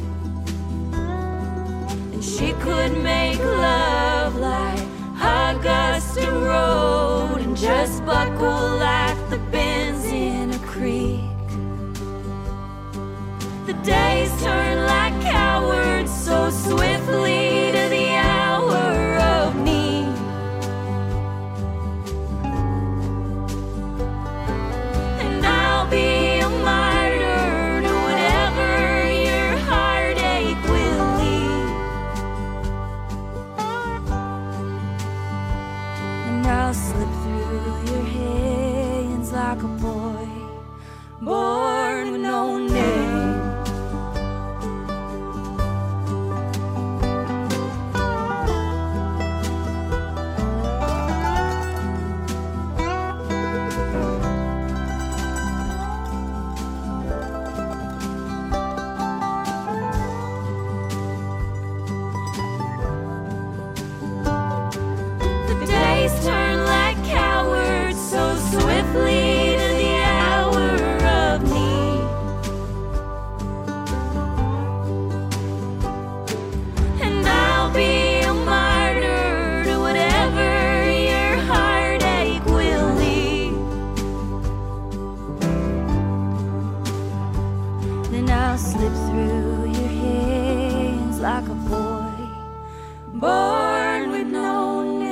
and she could make love like Augusta Road and just buckle like the bends in a creek. The days turn like cowards so swiftly to the hour of need. And I'll be a martyr to whatever your heartache will lead. And I'll slip through your hands like a boy born with no name. Turn like cowards so swiftly to the hour of need. And I'll be a martyr to whatever your heartache will lead. Then I'll slip through your hands like a boy born with no name.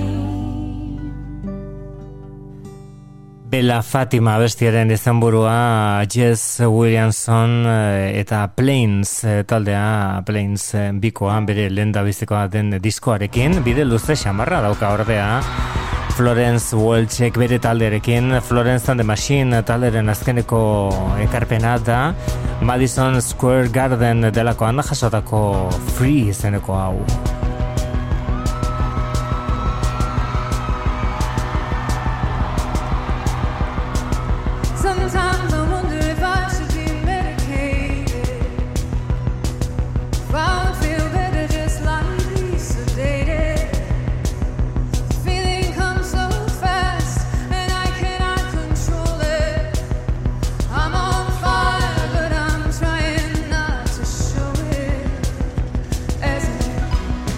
Bella Fatima bestiaren izenburua Jess Williamson eta Plains taldea, Plains bikoa bere lehendabizikoa den diskoarekin, bide luze xamarra dauka ordea Florence Welchek bere talderekin. Florence and the Machine talderen azkeneko ekarpena da Madison Square Garden delakoan jasotako Free izeneko hau. Sometimes I wonder if I should be medicated, if I would feel better just lightly sedated. Feeling comes so fast and I cannot control it. I'm on fire but I'm trying not to show it. As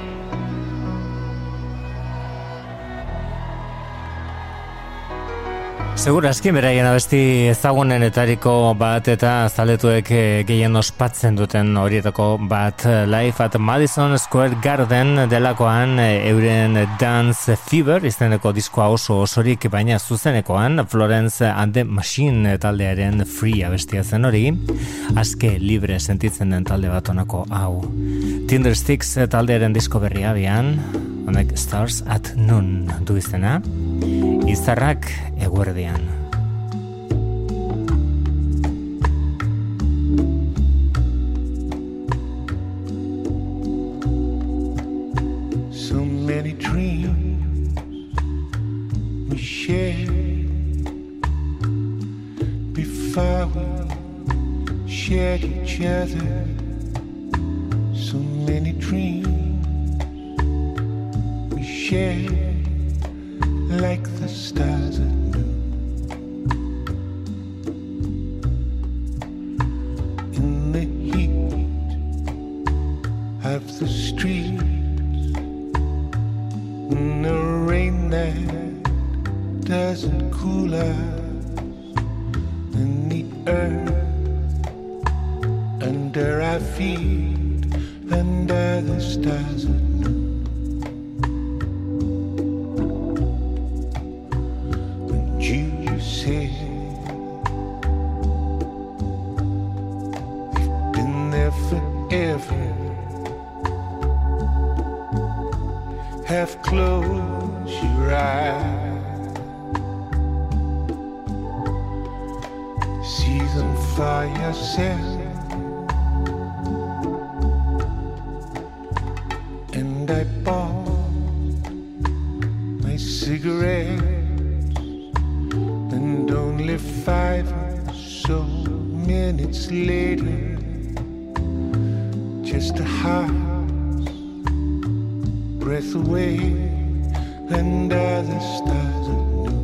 Segura aski beraien abesti ezagunenetariko bat eta zaletuek gehien ospatzen duten horietako bat Live at Madison Square Garden delakoan euren Dance Fever izeneko diskoa osorik, baina zuzenekoan Florence and the Machine taldearen Free abestia zen hori, aske libre sentitzen den talde bat honako hau. Tindersticks taldearen disko berria abian, honek Stars at Noon du izena, izarrak eguerdian. So many dreams we shared before we shared each other. So many dreams we shared like the stars at noon. In the heat of the streets, in the rain that doesn't cool us, in the earth under our feet, under the stars at noon. You said you've been there forever. Half close your eyes, see them for yourself. And I bought my cigarette. And only 5 or so minutes later, just a heart's breath away under the stars at noon.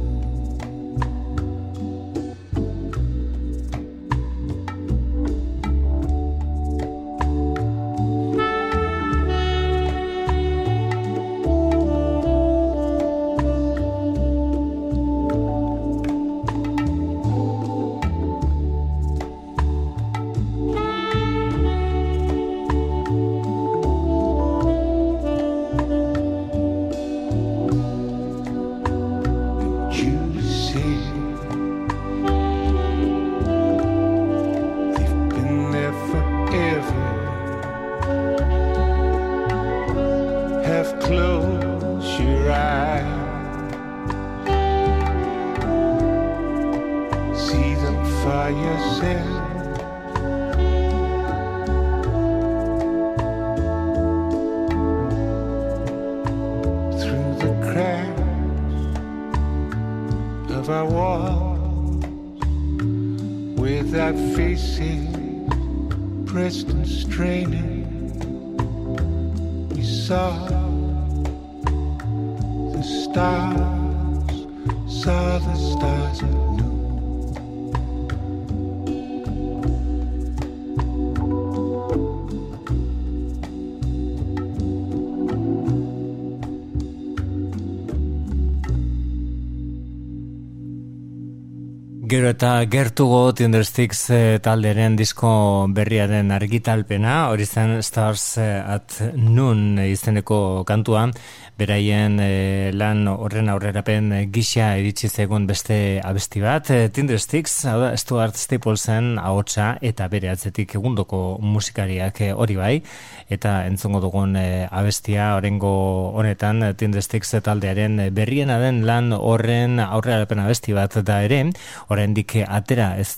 Gero eta gertugo Tindersticks talderen disko berriaren argitalpena, hori zen Stars at Noon izeneko kantua, beraien lan horren aurrerapen gisa iritsi zegoen beste abesti bat. Tindersticks, hau da, Stuart Staplesen ahotsa eta bere atzetik egundoko musikariak hori bai, eta entzongo dugun abestia orengo honetan Tindersticks taldearen berriena den lan horren aurrerapen abesti bat da ere, oraindik atera ez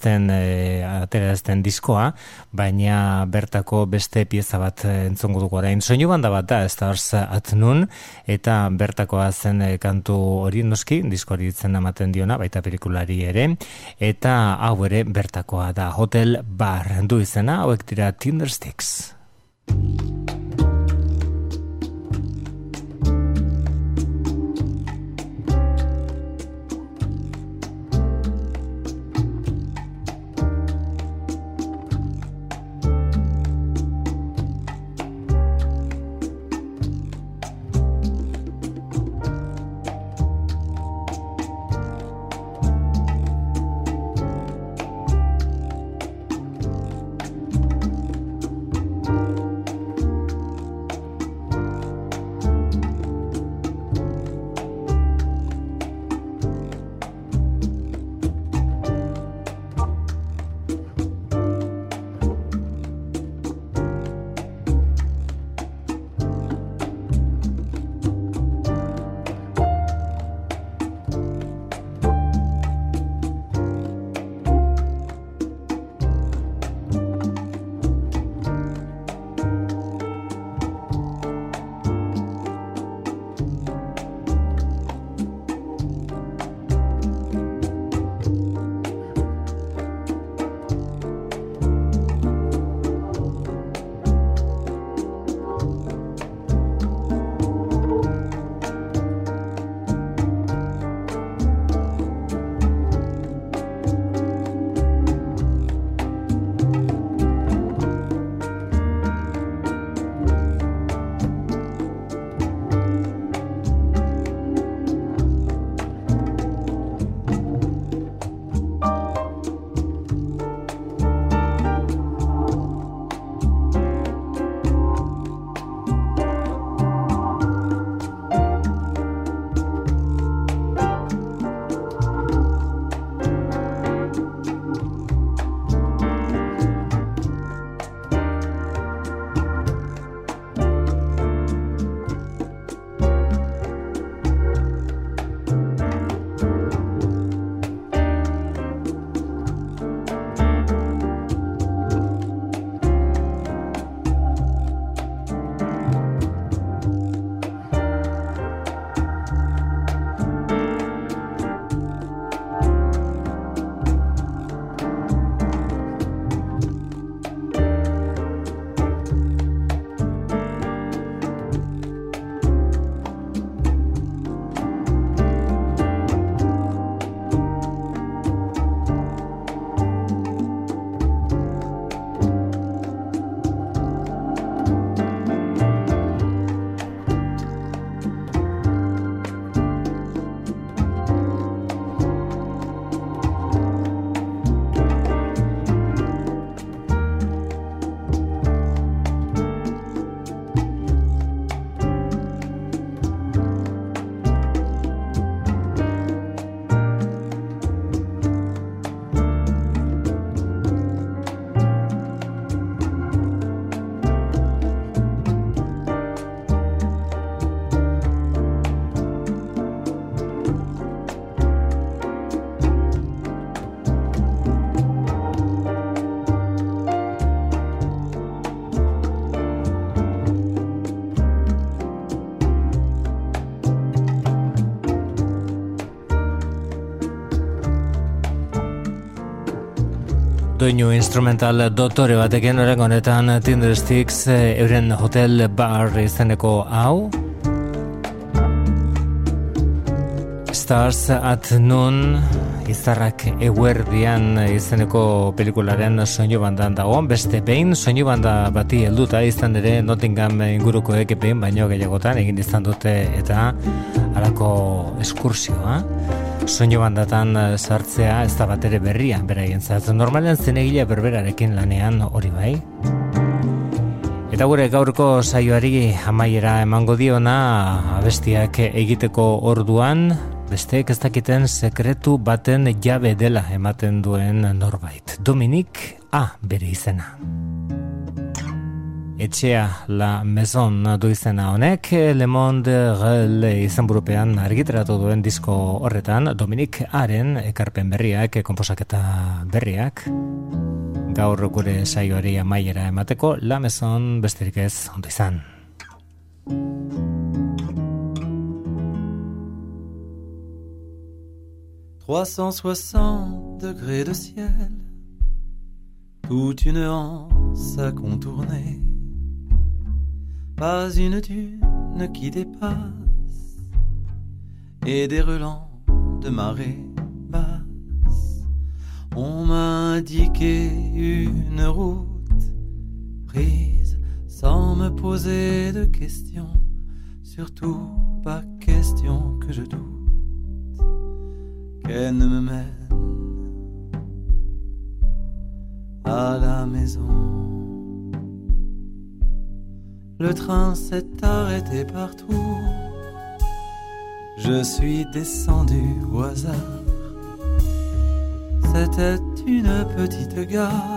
den diskoa, baina bertako beste pieza bat entzongo dugu orain. Soinu banda bat da Stars at Noon, eta bertakoa zen kantu hori noski, diskoari izen ematen diona, baita pelikulari ere, eta hau ere bertakoa da Hotel Bar du izena, hauek dira Tindersticks. doinu instrumental dotore batekin oraingo honetan Tindersticks euren Hotel Bar izeneko hau. Stars at Noon, izarrak eguerdian izeneko pelikularen soinu bandan dago. Beste behin soinu banda bati helduta izan ere Nottingham ingurukoek behin baino gehiagotan egin izan dute eta halako eskursioa. Soinu bandatan sartzea ez da batere berria beraientzat. Normalean zinegile berberarekin lanean hori bai. Eta gure gaurko saioari amaiera emango diona abestiak egiteko orduan, besteek ez dakiten sekretu baten jabe dela ematen duen norbait. Dominique A. bere izena. Etxea La Maison du izena honek, Le Monde Réel izenburupean argitaratu duen disko horretan, Dominique A.ren ekarpen berriak, konposaketa berriak, gaur gure saioari amaiera emateko, La Maison besterik ez ondo izan. 360 degrés de ciel, toute une anse à contourner, pas une dune qui dépasse, et des relents de marée basse. On m'a indiqué une route prise sans me poser de questions, surtout pas question que je doute qu'elle ne me mène à la maison. Le train s'est arrêté partout, je suis descendu au hasard. C'était une petite gare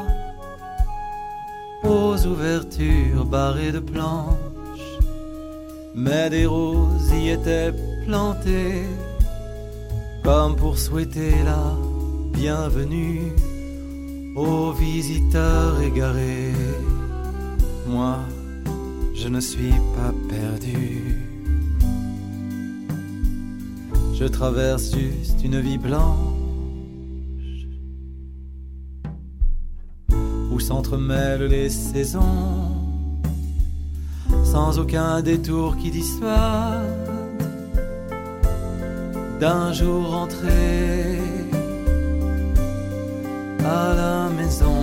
aux ouvertures barrées de planches, mais des roses y étaient plantées comme pour souhaiter la bienvenue aux visiteurs égarés. Moi, je ne suis pas perdu. Je traverse juste une vie blanche où s'entremêlent les saisons, sans aucun détour qui dissuade d'un jour rentré à la maison.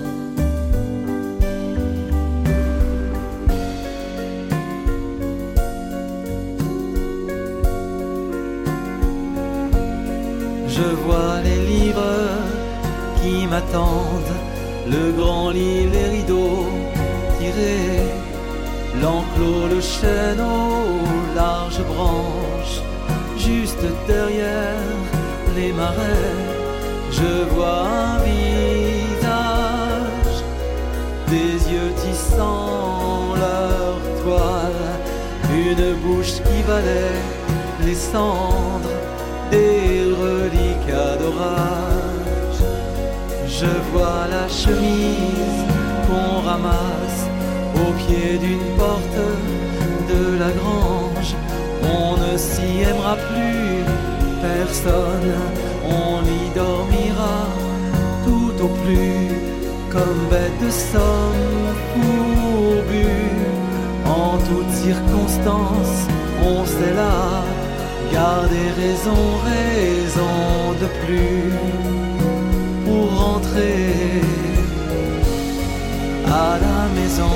Je vois les livres qui m'attendent, le grand lit, les rideaux tirés, l'enclos, le chêne aux larges branches. Juste derrière les marais, je vois un visage, des yeux tissant leur toile, une bouche qui valait les cendres des reliquats d'orage. Je vois la chemise qu'on ramasse au pied d'une porte de la grange. On ne s'y aimera plus personne, on y dormira tout au plus, comme bête de somme fourbue. En toutes circonstances, on sait là garder raison, raison de plus, pour rentrer à la maison.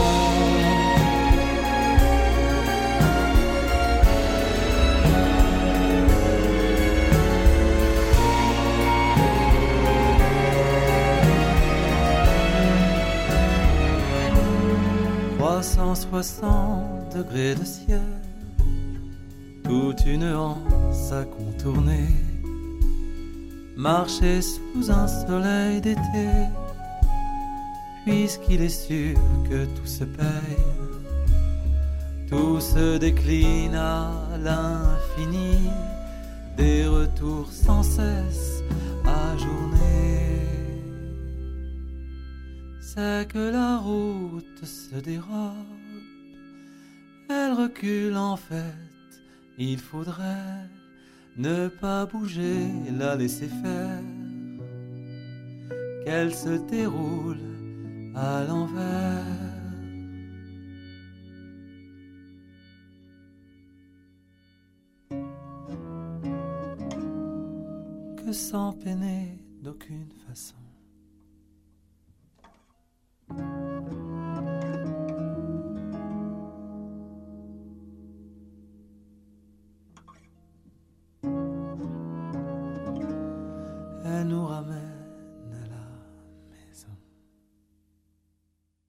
360 degrés de ciel, toute une anse à contourner, marcher sous un soleil d'été, puisqu'il est sûr que tout se paye, tout se décline à l'infini, des retours sans cesse à journée. C'est que la route se dérobe, elle recule en fait, il faudrait ne pas bouger, la laisser faire, qu'elle se déroule à l'envers. Que sans peiner d'aucune façon. Elle nous ramène